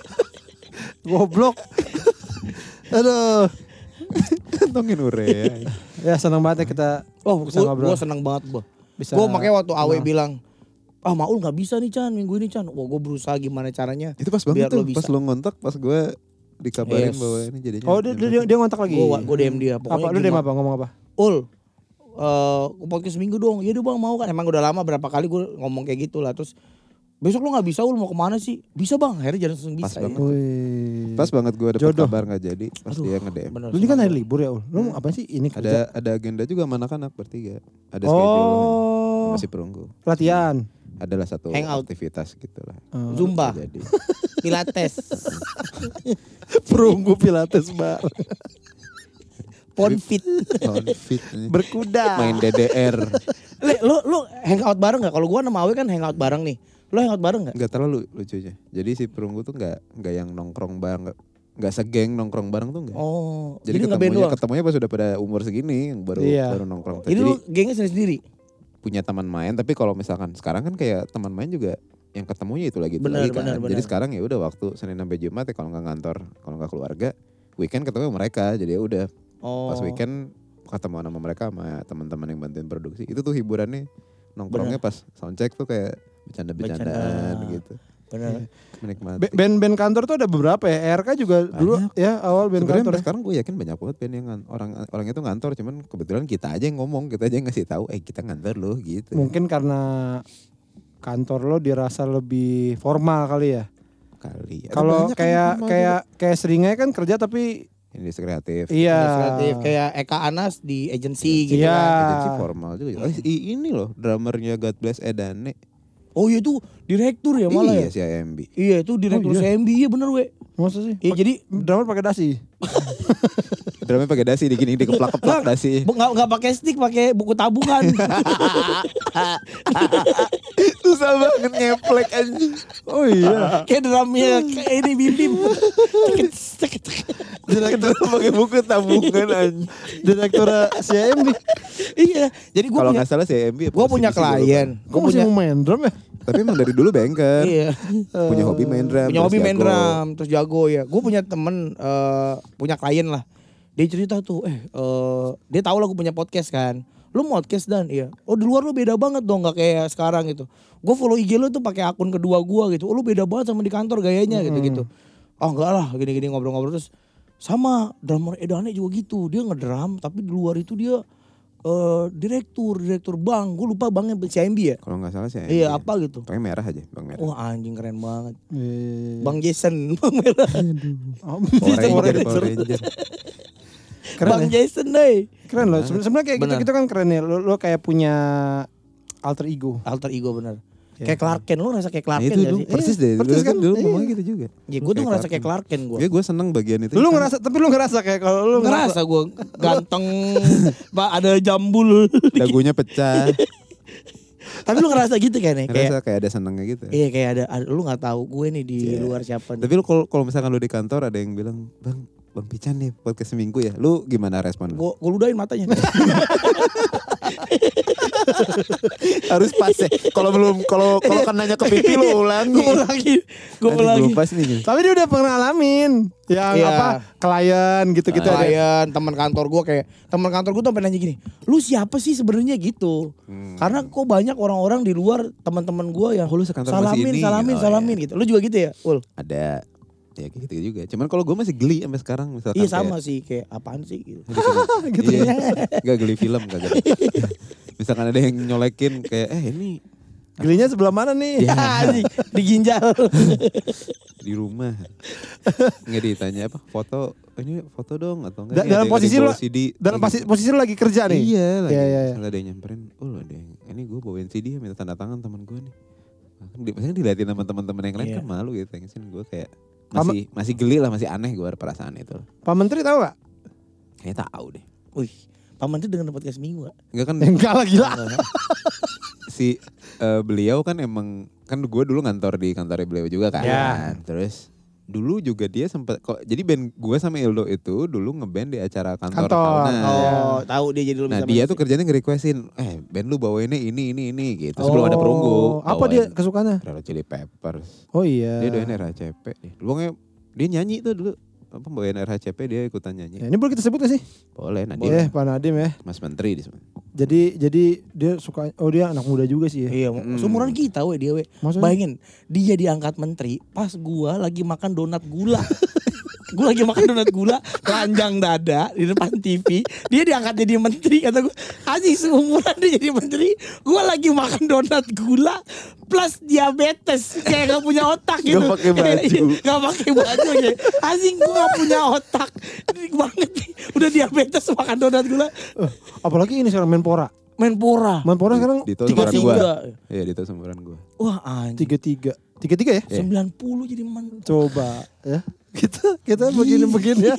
Goblok. Aduh. Kantongin urea. Ya senang banget ya kita Oh, bisa ngobrol. gue seneng banget gue. Bisa. Gue makanya waktu Awe kenal. bilang, ah Maul nggak bisa nih Chan minggu ini Chan. Wah gue berusaha gimana caranya. Itu pas Biar banget tuh, lo bisa. pas lo ngontak, pas gue dikabarin Yes. bahwa ini jadinya. Oh dia, dia, dia ngontak lagi. Gue gue D M dia. Apa lu D M apa ngomong apa? Ul, eh podcast seminggu dong. Ya bang mau kan. Emang udah lama berapa kali gue ngomong kayak gitu lah. Terus besok lu nggak bisa Ul mau kemana sih? Bisa bang. Akhirnya jangan langsung Pas bisa. banget. ya. Wih. Pas banget gue dapet Jodoh. kabar gak jadi, pas Aduh, dia nge-D M. bener, Lu ini kan hari senang libur ya Ul. Lu mau apa sih ini kerja? Ada ada agenda juga sama anak-anak bertiga. Ada schedule Oh. masih perunggu. Latihan. Adalah satu Hangout. aktivitas gitu lah. Oh. Zumba, Nggak jadi. Pilates, Perunggu pilates bar. Ponfit. Outfit nih. Berkuda. Main D D R. Le, lu lu hangout bareng nggak? Kalau gue sama Awe kan hangout bareng nih. Lu hangout bareng nggak? Nggak terlalu lucunya. Jadi si perunggu tuh nggak nggak yang nongkrong bareng, nggak nggak segeng nongkrong bareng tuh nggak. Oh, Jadi, jadi nggak band ketemunya doang. ketemunya pas sudah pada umur segini yang baru Iya. baru nongkrong. Jadi Jadi, lu gengnya sendiri-sendiri. punya teman main, tapi kalau misalkan sekarang kan kayak teman main juga yang ketemunya itu lagi itu Benar, lagi kan. benar, Jadi benar. sekarang ya udah waktu Senin sampai Jumat ya kalau nggak kantor, kalau nggak keluarga, weekend ketemu sama mereka. Jadi ya udah Oh. pas weekend ketemu sama mereka sama teman-teman yang bantuin produksi. Itu tuh hiburannya nongkrongnya pas soundcheck tuh kayak bercanda-bercandaan Bercanda. gitu. Bener. Menikmati. Ba- Band-band kantor tuh ada beberapa ya. R K juga dulu Banyak. ya awal band Sebenarnya kantor. sampai sekarang gue yakin banyak banget band yang ngan- orang orang itu ngantor, cuman kebetulan kita aja yang ngomong, kita aja yang ngasih tahu, eh kita ngantor loh gitu. Mungkin karena kantor lo dirasa lebih formal kali ya. Kali. Ada Kalau banyak kan kayak formal kayak kayak Seringai kan kerja tapi juga. Industri kreatif. iya. Kreatif kayak Eka Anas di agency gitu Iya. kan. Agensi formal juga. Oh, i- ini loh drummernya God Bless Edane. Oh iya itu direktur ya malah Iya ya. si I M B. Iya itu direktur Oh, iya. C M B iya bener we. Masa sih? Iya jadi Drummer pakai dasi. Drumnya pakai dasi digini dikeplak-keplak dasi. bu- nggak nggak pakai stick pakai buku tabungan. Susah banget ngeplek anjing. Oh iya. Kayak drumnya kayak ini bim bim. Direktur pakai buku tabungan anjing. Direktur C M B. Iya jadi gue Kalau punya nggak salah si I M B. gue punya klien. Kok Gue masih punya mau main drum ya? Tapi emang dari dulu banker. iya. Punya hobi main drum. Punya terus hobi main jago. drum terus jago ya. Gue punya temen eh, punya klien lah. Dia cerita tuh, eh, eh dia tahu lah gue punya podcast kan. Lu mau podcast dan iya. Oh di luar lu beda banget dong, nggak kayak sekarang gitu. Gue follow I G lu tuh pakai akun kedua gue gitu. Oh lu beda banget sama di kantor gayanya gitu gitu. Oh enggak lah, gini-gini ngobrol-ngobrol terus sama drummer Edane juga gitu. Dia ngedrum tapi di luar itu dia eh direktur, direktur bank. Gue lupa banknya C M B ya. Kalau nggak salah si I M B. Iya ya. apa gitu. Pakai merah aja, bang merah. Wah anjing keren banget. Iya. Bang Jason, Bang Merah. Oh, Power Ranger, Power Ranger. Keren Bang ya? Jason deh. Keren loh. Seben- Sebenarnya kayak Benar. gitu-gitu kan keren ya. Lo, lo kayak punya alter ego. Alter ego bener. Ya. Kayak Clark Kent, lu ngerasa kayak Clark Nah, Kent itu gak dulu sih? persis deh. persis Dulu kan kan? dulu Iya. ngomongnya gitu juga. Ya gue tuh ngerasa kayak Clark Kent gue. Ya gue seneng bagian itu. Lu ngerasa tapi lu ngerasa kayak kalau lu Ngerasa gue ganteng, Pak ada jambul. dagunya pecah. Tapi lu ngerasa gitu kan ya? Kayak Ngerasa kayak ada senengnya gitu. iya kayak ada, ada lu nggak tahu gue nih di Iya. luar siapa nih. Tapi lu kalau kalau misalkan lu di kantor ada yang bilang, "Bang, Bang Pican nih podcast seminggu ya." Lu gimana respon lu? Gue gue ludahin matanya. Harus pas ya. Kalau belum kalau kalau kan nanya ke pipi lu ulangi. Gue ulangi, gue Nanti ulangi. belum pas nih. Tapi dia udah pernah ngalamin yang Iya. apa klien gitu-gitu ada. Klien, teman kantor gue kayak teman kantor gue tuh sampai nanya gini, lu siapa sih sebenarnya gitu? Hmm. Karena kok banyak orang-orang di luar teman-teman gue yang Oh, lu sekantor masih salamin, ini? salamin, Oh, salamin gitu. Lu juga gitu ya, Ul? Ada ya kayak gitu juga. Cuman kalau gue masih geli sampai sekarang misalkan. Iya kayak- sama sih, kayak apaan sih gitu. gitu ya. Gak geli film kagak. Misalkan ada yang nyolekin kayak eh ini Gelinya sebelah mana nih? Ya, anjing, di ginjal. di rumah. Nggak ditanya apa foto ini foto dong atau enggak? Da- dalam posisi lu C D. dalam posisi, posisi lu lagi kerja nih. Iya lagi. Iya, iya, iya. Misalnya ada yang nyamperin, oh ada yang ini gue bawain C D minta tanda tangan teman gue nih. Kan di, maksudnya diliatin sama teman-teman yang lain Iya. kan malu gitu. Tensin gue kayak masih masih geli lah, masih aneh gue perasaan itu. Pak Menteri tahu gak? Kayaknya tahu deh. Wih, Pak Menteri dengan podcast minggu gak? Enggak kan Enggak lah gila. si eh, beliau kan emang kan gue dulu ngantor di kantornya beliau juga kan. Ya. Terus dulu juga dia sempat kok jadi band gue sama Ildo itu dulu ngeband di acara kantor, Kantor. tahunan. Oh, tahu dia jadi lu Nah bisa dia main tuh musik. kerjanya nge-requestin, eh band lu bawainnya ini ini ini gitu. Sebelum ada perunggu. Oh, apa dia bawain kesukaannya? Red Hot Chili Peppers. Oh iya. Dia doain R H C P nih. Dulu nge- dia nyanyi tuh dulu. Apa bawain R H C P dia ikutan nyanyi. Ya, ini boleh kita sebut gak sih? Boleh Nadim. Boleh, Pak Nadim ya. Mas Menteri di sana. Jadi jadi dia suka oh dia anak muda juga sih ya. Iya, Mm. seumuran kita we dia we. Maksudnya? Bayangin, dia diangkat menteri pas gua lagi makan donat gula. Gua lagi makan donat gula, telanjang dada di depan T V. Dia diangkat jadi menteri kata gua. Anjing seumuran dia jadi menteri, gua lagi makan donat gula plus diabetes kayak gak punya otak gitu. Gak pakai baju. Gak pakai baju ya. Anjing gua gak punya otak. Ini banget nih. Udah diabetes makan donat gula. Eh, apalagi ini sekarang Menpora. Menpora. Menpora sekarang Dito Tiga seumuran tiga. gua. Iya Dito seumuran gua. Wah anjing. tiga tiga. tiga tiga ya? Iya. sembilan puluh jadi menteri. Coba ya. Kita kita begini-begini ya.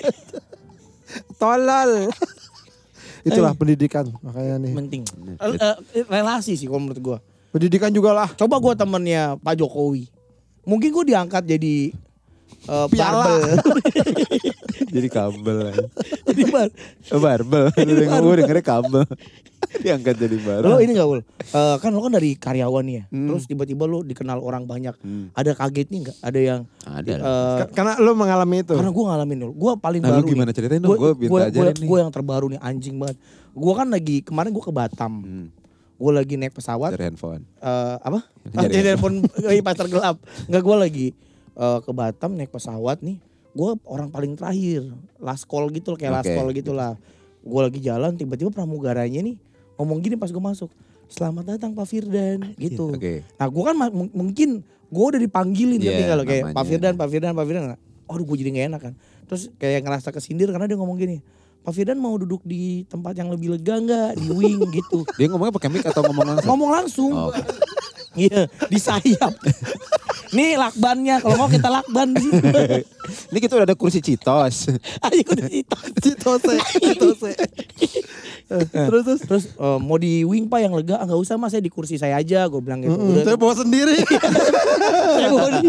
Tolol. Itulah pendidikan makanya nih. Penting. Eh, eh, relasi sih kalau menurut gua. Pendidikan juga lah. Coba gua temennya Pak Jokowi. Mungkin gua diangkat jadi eh, Piala. barbel. Jadi kabel aja. Jadi bar. Oh, barbel. Lu gue dengernya kabel. Diangkat jadi barbel. Lo ini gak Ul? Eh, kan lo kan dari karyawan nih ya. Hmm. Terus tiba-tiba lo dikenal orang banyak. Hmm. Ada kagetnya gak? Ada yang Ada lah. eh, Ka- Karena lu mengalami itu. karena gue ngalamin dulu. Gue paling Nah, lu baru gimana nih. ceritain dong? Gua minta ajarin nih. Gue yang terbaru nih anjing banget. Gue kan lagi kemarin gue ke Batam. Hmm. gue lagi naik pesawat. Dari handphone. Eh apa? Dari Jadi handphone di pasar gelap. Enggak, gue lagi eh, ke Batam naik pesawat nih. Gue orang paling terakhir, last call gitu loh, kayak last Oke. call gitu lah. Gue lagi jalan, tiba-tiba pramugaranya nih ngomong gini pas gue masuk. Selamat datang Pak Firdan gitu. Oke. Nah gue kan ma- m- mungkin gue udah dipanggilin Iya, tapi kalau kayak namanya. Pak Firdan, Pak Firdan, Pak Firdan. Aduh gue jadi gak enak kan. Terus kayak ngerasa kesindir karena dia ngomong gini. Pak Firdan mau duduk di tempat yang lebih lega gak? Di wing gitu. Dia ngomongnya pakai mic atau ngomong langsung? Ngomong langsung. Oh, oke. Iya, di sayap. Nih lakbannya, kalau mau kita lakban di situ. Ini kita udah ada kursi Citos. Ayo udah situ. Citose, citose. Terus terus terus eh, mau di wing Pak yang lega, ah, nggak usah Mas, saya di kursi saya aja, gue bilang gitu. Mm-mm, Udah, saya bawa sendiri. saya bawa di-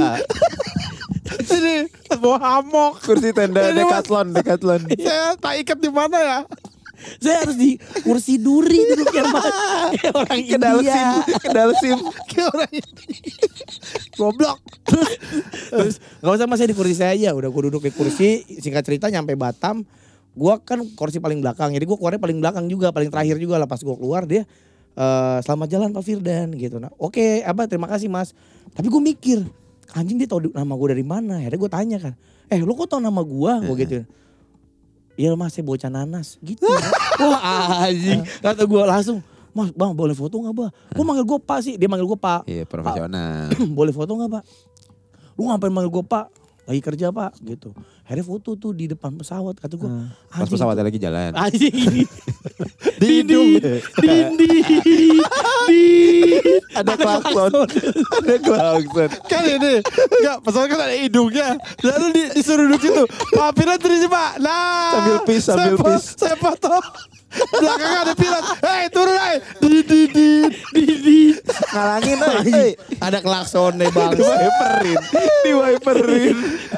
Ini bawa hamok. Kursi tenda Ini mah- Decathlon, Decathlon. Saya tak ikat di mana ya? saya harus di kursi duri duduknya Pak. Kayak orang Kedal sim, India. kedal sim. Kayak orang ini. Goblok. Terus nggak usah Mas, saya di kursi saya aja. Udah gue duduk di kursi, singkat cerita nyampe Batam. Gua kan kursi paling belakang, jadi gue keluarnya paling belakang juga, paling terakhir juga lah. Pas gue keluar dia, eh, selamat jalan Pak Firdan gitu. Nah, oke, apa terima kasih Mas. Tapi gue mikir, anjing dia tahu nama gue dari mana? Akhirnya gue tanya kan, eh lu kok tahu nama gue? Gue gitu. Iya Mas, saya bocah nanas gitu. Wah anjing, kata gue langsung, Mas bang boleh foto nggak Bang? Gue manggil gue Pak sih, dia manggil gue Pak. Iya, profesional. Boleh foto nggak Pak? Lu ngapain manggil gue Pak? Lagi kerja Pak gitu. Akhirnya foto tuh di depan pesawat, kata gue. Pas pesawatnya lagi jalan. Anjing ini. Di hidung. Dindi. Di. Ada klakson. Ada klakson. Kan ini. Enggak, pesawat kan ada hidungnya. Lalu di, disuruh duduk situ. Pak Firdan terus Pak. Nah. Sambil pis, sambil saya fo- pis. Saya foto. Belakangnya ada pilot. Hei turun hei. Di di di. Di. Di. Ngalangin eh. Ada klakson deh bang. Di wiperin. Di wiperin.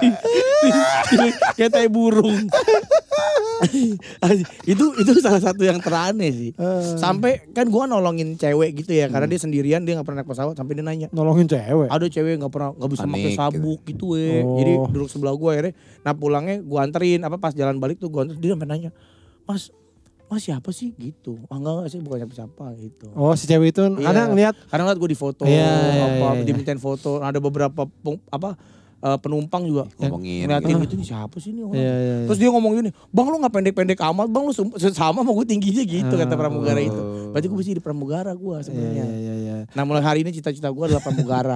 Kayak tai burung. itu itu salah satu yang teraneh sih. Sampai kan gua nolongin cewek gitu ya, karena dia sendirian, dia nggak pernah naik pesawat. Sampai dia nanya, Nolongin cewek. ada cewek nggak pernah nggak bisa Panik, pakai sabuk gitu, we. Oh. Jadi duduk sebelah gua akhirnya. Nah pulangnya gua anterin, apa pas jalan balik tuh gua anterin, dia sampai nanya, Mas, Mas siapa sih gitu? Ah enggak enggak sih, bukan siapa-siapa gitu. Oh si cewek itu Iya. kadang ngeliat. Kadang ngeliat gue di foto, Iya, iya, apa iya, iya. dimintain foto. Ada beberapa peng- apa eh, penumpang juga Ngomongin ngeliatin gitu. gitu, nih siapa sih nih orang. Iya, iya, iya. Terus dia ngomong gini, bang lu gak pendek-pendek amat, bang lu sem- sama sama gue tingginya gitu, kata pramugara itu. Berarti gue bisa di pramugara gue Iya, sebenarnya. iya, iya, iya. Nah mulai hari ini cita-cita gue adalah pramugara.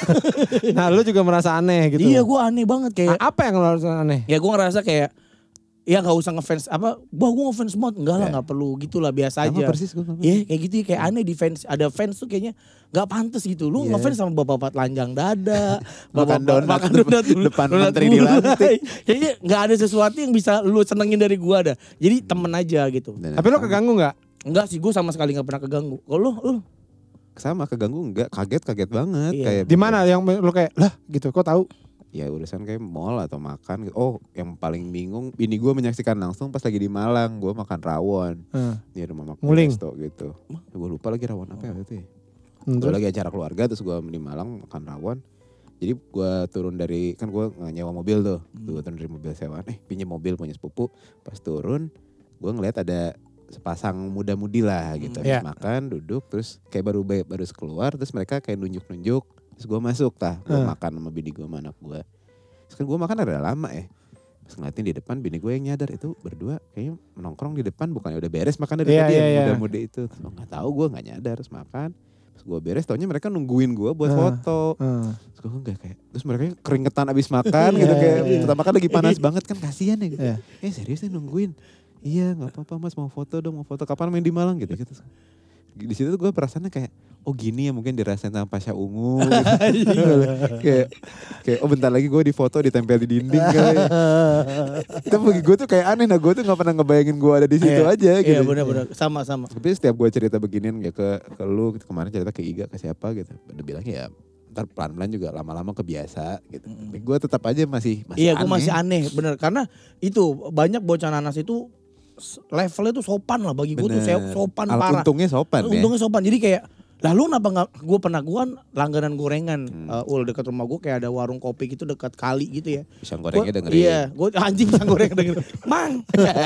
Nah lu juga merasa aneh gitu. Iya gue aneh banget kayak, A- Apa yang lu rasa aneh? ya gue ngerasa kayak, ya gak usah ngefans apa, bah gue ngefans banget, enggak lah Ya. gak perlu gitu lah, biasa Sama aja. persis gue. Iya kayak gitu ya, kayak aneh di fans, ada fans tuh kayaknya gak pantas gitu. Lu Iya. ngefans sama bapak-bapak telanjang dada, Makan bapak- donat makan donat dulu, depan donat menteri gulai. dilantik. Kayaknya gak ada sesuatu yang bisa lu senengin dari gua ada. Jadi temen aja gitu. Tapi lu keganggu nggak? Enggak sih, gua sama sekali gak pernah keganggu. Kalau lu, lu Sama keganggu enggak, kaget kaget banget Iya. kayak Di mana yang lu kayak lah gitu? Kok tahu? ya urusan kayak mall atau makan gitu. Oh, yang paling bingung ini gue menyaksikan langsung pas lagi di Malang, gue makan rawon. Heeh. Di rumah makan Nguling. resto gitu. Gue lupa lagi rawon apa ya itu ya. Hmm, Gue terus? lagi acara keluarga terus gue di Malang makan rawon. Jadi gue turun dari, kan gue nyewa mobil tuh. Gue turun dari mobil sewaan, eh pinjam mobil punya sepupu. Pas turun gue ngeliat ada sepasang muda-mudi lah gitu. Iya. Habis makan, duduk, terus kayak baru baru keluar, terus mereka kayak nunjuk-nunjuk. Terus gue masuk tah, gue Hmm. makan sama bini gue sama anak gue. Terus kan gue makan ada lama ya. Pas ngeliatin di depan bini gue yang nyadar itu berdua kayaknya menongkrong di depan, bukannya udah beres makan dari Iya, tadi iya, yang iya. muda-muda itu. Terus gue gak tahu, gue gak nyadar, terus makan. Terus gue beres, taunya mereka nungguin gue buat Ah. foto. Heeh. Terus gue enggak kayak, terus mereka keringetan abis makan gitu Iya, kayak, iya. pertama kan lagi panas banget kan, kasihan ya gitu. Iya. Eh serius nih nungguin? Iya gak apa-apa mas, mau foto dong, mau foto kapan main di Malang gitu. gitu. Di situ tuh gue perasaannya kayak, oh gini ya mungkin dirasain sama Pasha Ungu gitu. kayak, kayak oh bentar lagi gue di foto ditempel di dinding kali. Itu bagi gue tuh kayak aneh, nah gue tuh gak pernah ngebayangin gue ada di situ Iya. aja gitu. Iya benar-benar, sama-sama. Tapi setiap gue cerita beginian ya ke ke lu gitu, kemarin cerita ke Iga ke siapa gitu, udah bilang ya ntar pelan-pelan juga lama-lama kebiasa gitu. Tapi gue tetap aja masih masih Iya, aneh. gue masih aneh, bener. Karena itu banyak bocah nanas itu s- levelnya tuh sopan lah bagi gue tuh, Bener. saya sopan Alat parah. untungnya sopan ya. Untungnya sopan. Jadi kayak Lah lu kenapa nggak? Gue pernah gue kan langganan gorengan, Hmm. uh, ul dekat rumah gue kayak ada warung kopi gitu dekat kali gitu ya. Pisang gorengnya Gua- dengerin. Iya, gue anjing pisang goreng dengerin. Mang,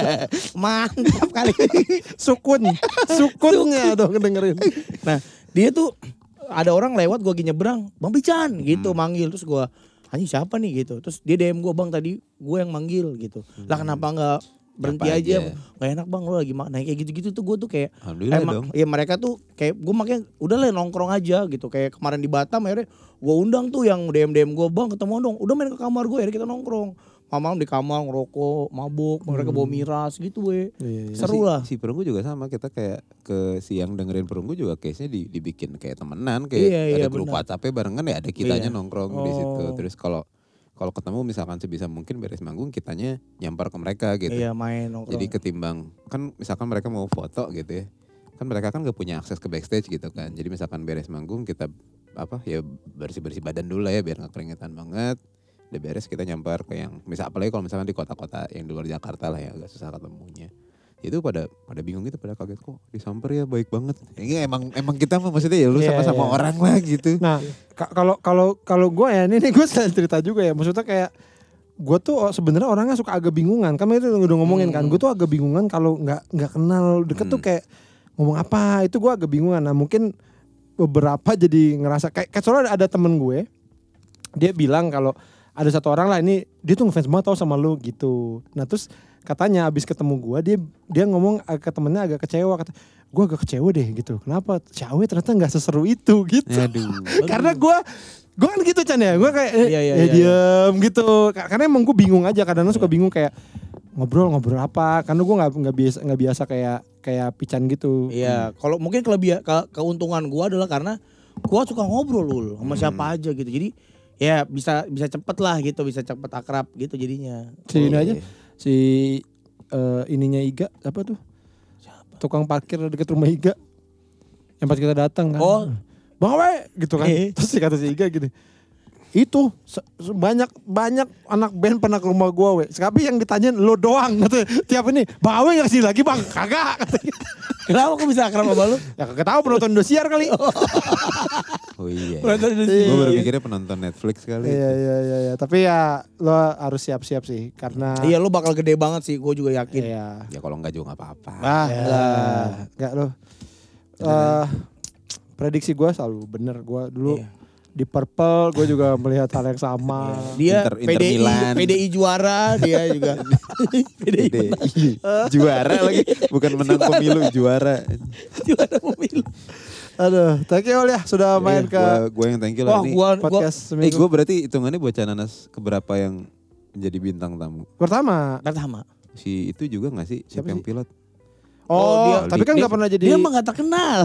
mantap kali. Sukun, sukunnya dong dengerin. Nah dia tuh ada orang lewat gue lagi nyebrang, Bang Pican gitu Hmm. manggil, terus gue anjing siapa nih gitu, terus dia D M gue, Bang tadi gue yang manggil gitu. Lah kenapa nggak berhenti Apa aja? aja? Gak enak bang lo lagi makan. Nah kayak gitu-gitu tuh gue tuh kayak Alhamdulillah emang dong. ya mereka tuh kayak gue makanya udah lah nongkrong aja gitu. Kayak kemarin di Batam akhirnya gue undang tuh yang D M D M gue, bang ketemu dong. Udah main ke kamar gue, akhirnya kita nongkrong. Malam di kamar ngerokok, mabuk, mereka bawa miras gitu we. Iya, iya. Seru si, lah. Si Perunggu juga sama, kita kayak ke siang dengerin Perunggu juga case-nya di, dibikin kayak temenan, kayak Iya, iya, ada grup benar. WhatsApp-nya barengan ya ada kitanya Iya. nongkrong di situ. Oh. Terus kalau kalau ketemu misalkan sebisa mungkin beres manggung kitanya nyampar ke mereka gitu. Iya main nongkrong. Jadi ketimbang kan misalkan mereka mau foto gitu ya. Kan mereka kan gak punya akses ke backstage gitu kan. Jadi misalkan beres manggung kita apa ya bersih-bersih badan dulu lah ya biar gak keringetan banget. Udah beres kita nyampar ke yang misal apalagi kalau misalkan di kota-kota yang di luar Jakarta lah ya agak susah ketemunya. Itu pada pada bingung gitu, pada kaget kok disamper ya baik banget. Ini emang emang kita mah maksudnya ya lu Iya, sama-sama iya. orang lah gitu. Nah, ka- kalau kalau kalau gue ya ini, ini gue cerita juga ya. Maksudnya kayak gue tuh sebenarnya orangnya suka agak bingungan. Kan itu udah ngomongin kan. Hmm. Gue tuh agak bingungan kalau nggak nggak kenal deket tuh Hmm. kayak ngomong apa. Itu gue agak bingungan. Nah mungkin beberapa jadi ngerasa kayak, kayak soalnya ada temen gue. Dia bilang kalau ada satu orang lah ini dia tuh ngefans banget tau sama lu gitu. Nah terus katanya abis ketemu gue dia dia ngomong ke temennya agak kecewa, kata gue agak kecewa deh gitu. Kenapa? Cawe ternyata nggak seseru itu gitu. Aduh. Karena gue gue kan gitu Chan ya, gue kayak eh, Iya, iya, ya iya, diem gitu. Karena emang gue bingung aja, kadang-kadang suka bingung kayak ngobrol ngobrol apa. Karena gue nggak nggak biasa nggak biasa kayak kayak Pican gitu. Iya, kalau mungkin kelebihan ke, keuntungan gua adalah karena gua suka ngobrol lul sama Hmm. siapa aja gitu. Jadi ya bisa bisa cepet lah gitu, bisa cepet akrab gitu jadinya. Si ini Oh, aja iya. si eh, ininya Iga apa tuh? Tukang parkir deket rumah Iga. Yang pas kita datang kan. Oh. Bang Awe gitu kan. Eh. Terus kata si Iga gini. Itu se- se- banyak banyak anak band pernah ke rumah gua we. Tapi yang ditanyain lo doang katanya. Tiap ini, Bang Awe enggak kesini lagi Bang? Kagak katanya. Kenapa kok bisa akrab sama lu? Ya kagak tahu penonton Indosiar kali. Oh iya. Penonton Indosiar. Gue baru mikirnya penonton Netflix kali. Iya iya iya iya. Tapi ya lo harus siap-siap sih karena Iya lu bakal gede banget sih, gue juga yakin. Iya. Ya kalau enggak juga enggak apa-apa. Ah, Ya. enggak. Enggak lo. Eh prediksi gua selalu bener. Gua dulu Iya. di Purple gue juga melihat hal yang sama. Dia Inter- Inter P D I Milan. P D I juara, dia juga P D I Gede. Juara lagi, bukan menang pemilu, juara. juara pemilu. Aduh, thank you Ol ya sudah main ke Gua, gua yang thank you lah Wah, ini. gua gua podcast Eh seminggu gue berarti hitungannya buat Cananas keberapa yang menjadi bintang tamu? pertama. pertama. Si itu juga gak sih? Siapa Siapa yang sih? pilot? Oh, Oh, dia- tapi kan dia- nggak pernah jadi. Dia emang gak terkenal.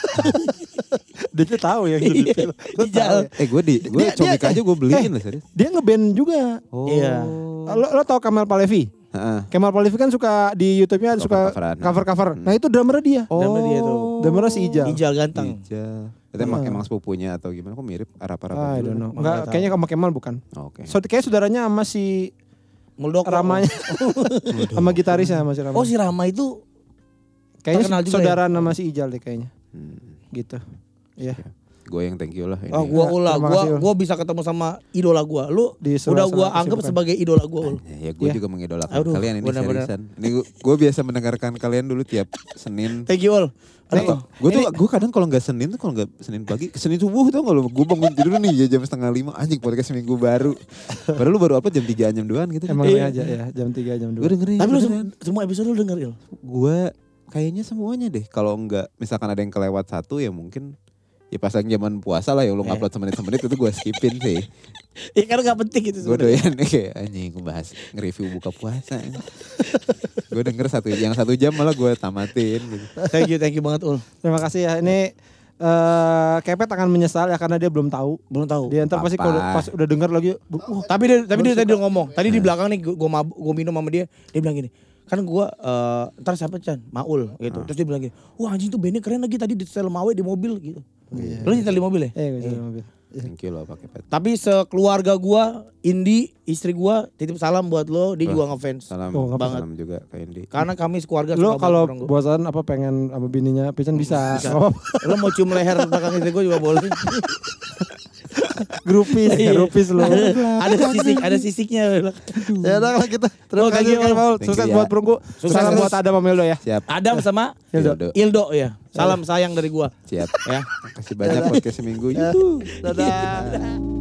Dia tuh tahu ya. Gitu, Iya, Lu tahu Ijal. ya. Eh gue di gue Dia- comik dia- aja gue beliin lah serius. Dia ngeband juga. Oh. Iya. Lo, lo tau Kemal Palevi? Heeh. Kemal Palevi kan suka di YouTube-nya suka Cover-coveran. cover-cover. Hmm. Nah itu drummernya dia. Drummer dia tuh. Drummernya si Ijal. Ijal ganteng. Ijal. Itu emang, Ah. emang sepupunya atau gimana? Kok mirip arah-arah Ah, I don't know. Nggak Enggak, tahu. kayaknya sama Kemal bukan. Oh, Oke. So, kayak saudaranya sama si Muldoko. Ramanya. Sama gitarisnya sama si Rama. Oh si Rama itu Kayaknya terkenal juga saudara nama si Ijal deh kayaknya. Hmm. Gitu. Iya. Gue yang thank you lah ini. Oh gua Ya, ulah, terima gua kasih, Ul. gua bisa ketemu sama idola gua. Lu Di udah sela-sela gua anggap kesibukan. sebagai idola gua, Ul. Ya, ya gue Iya. juga mengidolakan Aduh, kalian ini benar-benar. seriusan. Ini gue biasa mendengarkan kalian dulu tiap Senin. Thank you, Ul. Atau gue tuh gue kadang kalau nggak Senin tuh kalau nggak Senin pagi, Senin subuh tuh kalau gue bangun tidur nih ya jam setengah lima anjing podcast seminggu baru. Padahal lu baru upload jam tiga jam duaan gitu. Emang Iya. aja ya jam tiga jam Gue dua. dengerin. Tapi lu beneran. sem- semua episode lu denger, Il. Gue kayaknya semuanya deh. Kalau nggak misalkan ada yang kelewat satu ya mungkin ya pas lagi zaman puasa lah ya lu Eh. ngupload semenit-semenit itu gue skipin sih. Ya karena gak penting gitu Gue sebenarnya. doyan kayak anjing gue bahas nge-review buka puasa. Gue denger satu yang satu jam malah gue tamatin gitu. Thank you, thank you banget, Ul. Terima kasih ya. Ini eh Kepet akan menyesal ya karena dia belum tahu. Belum tahu. Dia ntar pasti kalau Apa? pas udah dengar lagi, uh, Tapi dia tapi dia tadi udah ngomong. Tadi di belakang nih gua mabuk, gua minum sama dia. Dia bilang gini, kan gua eh ntar siapa Chan? Maul gitu. Terus dia bilang gini, wah anjing tuh bandnya keren lagi tadi di setel Mawe di mobil gitu. Lu nyetel di mobil ya? eh gue di mobil. Thank you loh pakai pet. Tapi sekeluarga gua, Indi, istri gua titip salam buat lo, dia Wah, juga ngefans. Salam, Oh, banget. salam juga ke Indi. Karena kami sekeluarga Lo suka kalau banget orang gua. bosan apa pengen sama bininya Pican bisa. Bisa. Nggak apa-apa. Lo mau cium leher belakang istri gua juga boleh. Grupis, Iya. grupis lo. Ada sisik, ada sisiknya. Ya udah kalau kita terima Oh, kasih thank you, Kang Om. Paul. Thank Sukses you, ya. buat perunggu. Sukses Sukses terus. buat Adam sama Meldo ya. Siap. Adam sama Ildo. Ildo ya. Salam sayang dari gua. Siap. Ya. Kasih banyak podcast seminggu. Yuhu. Dadah.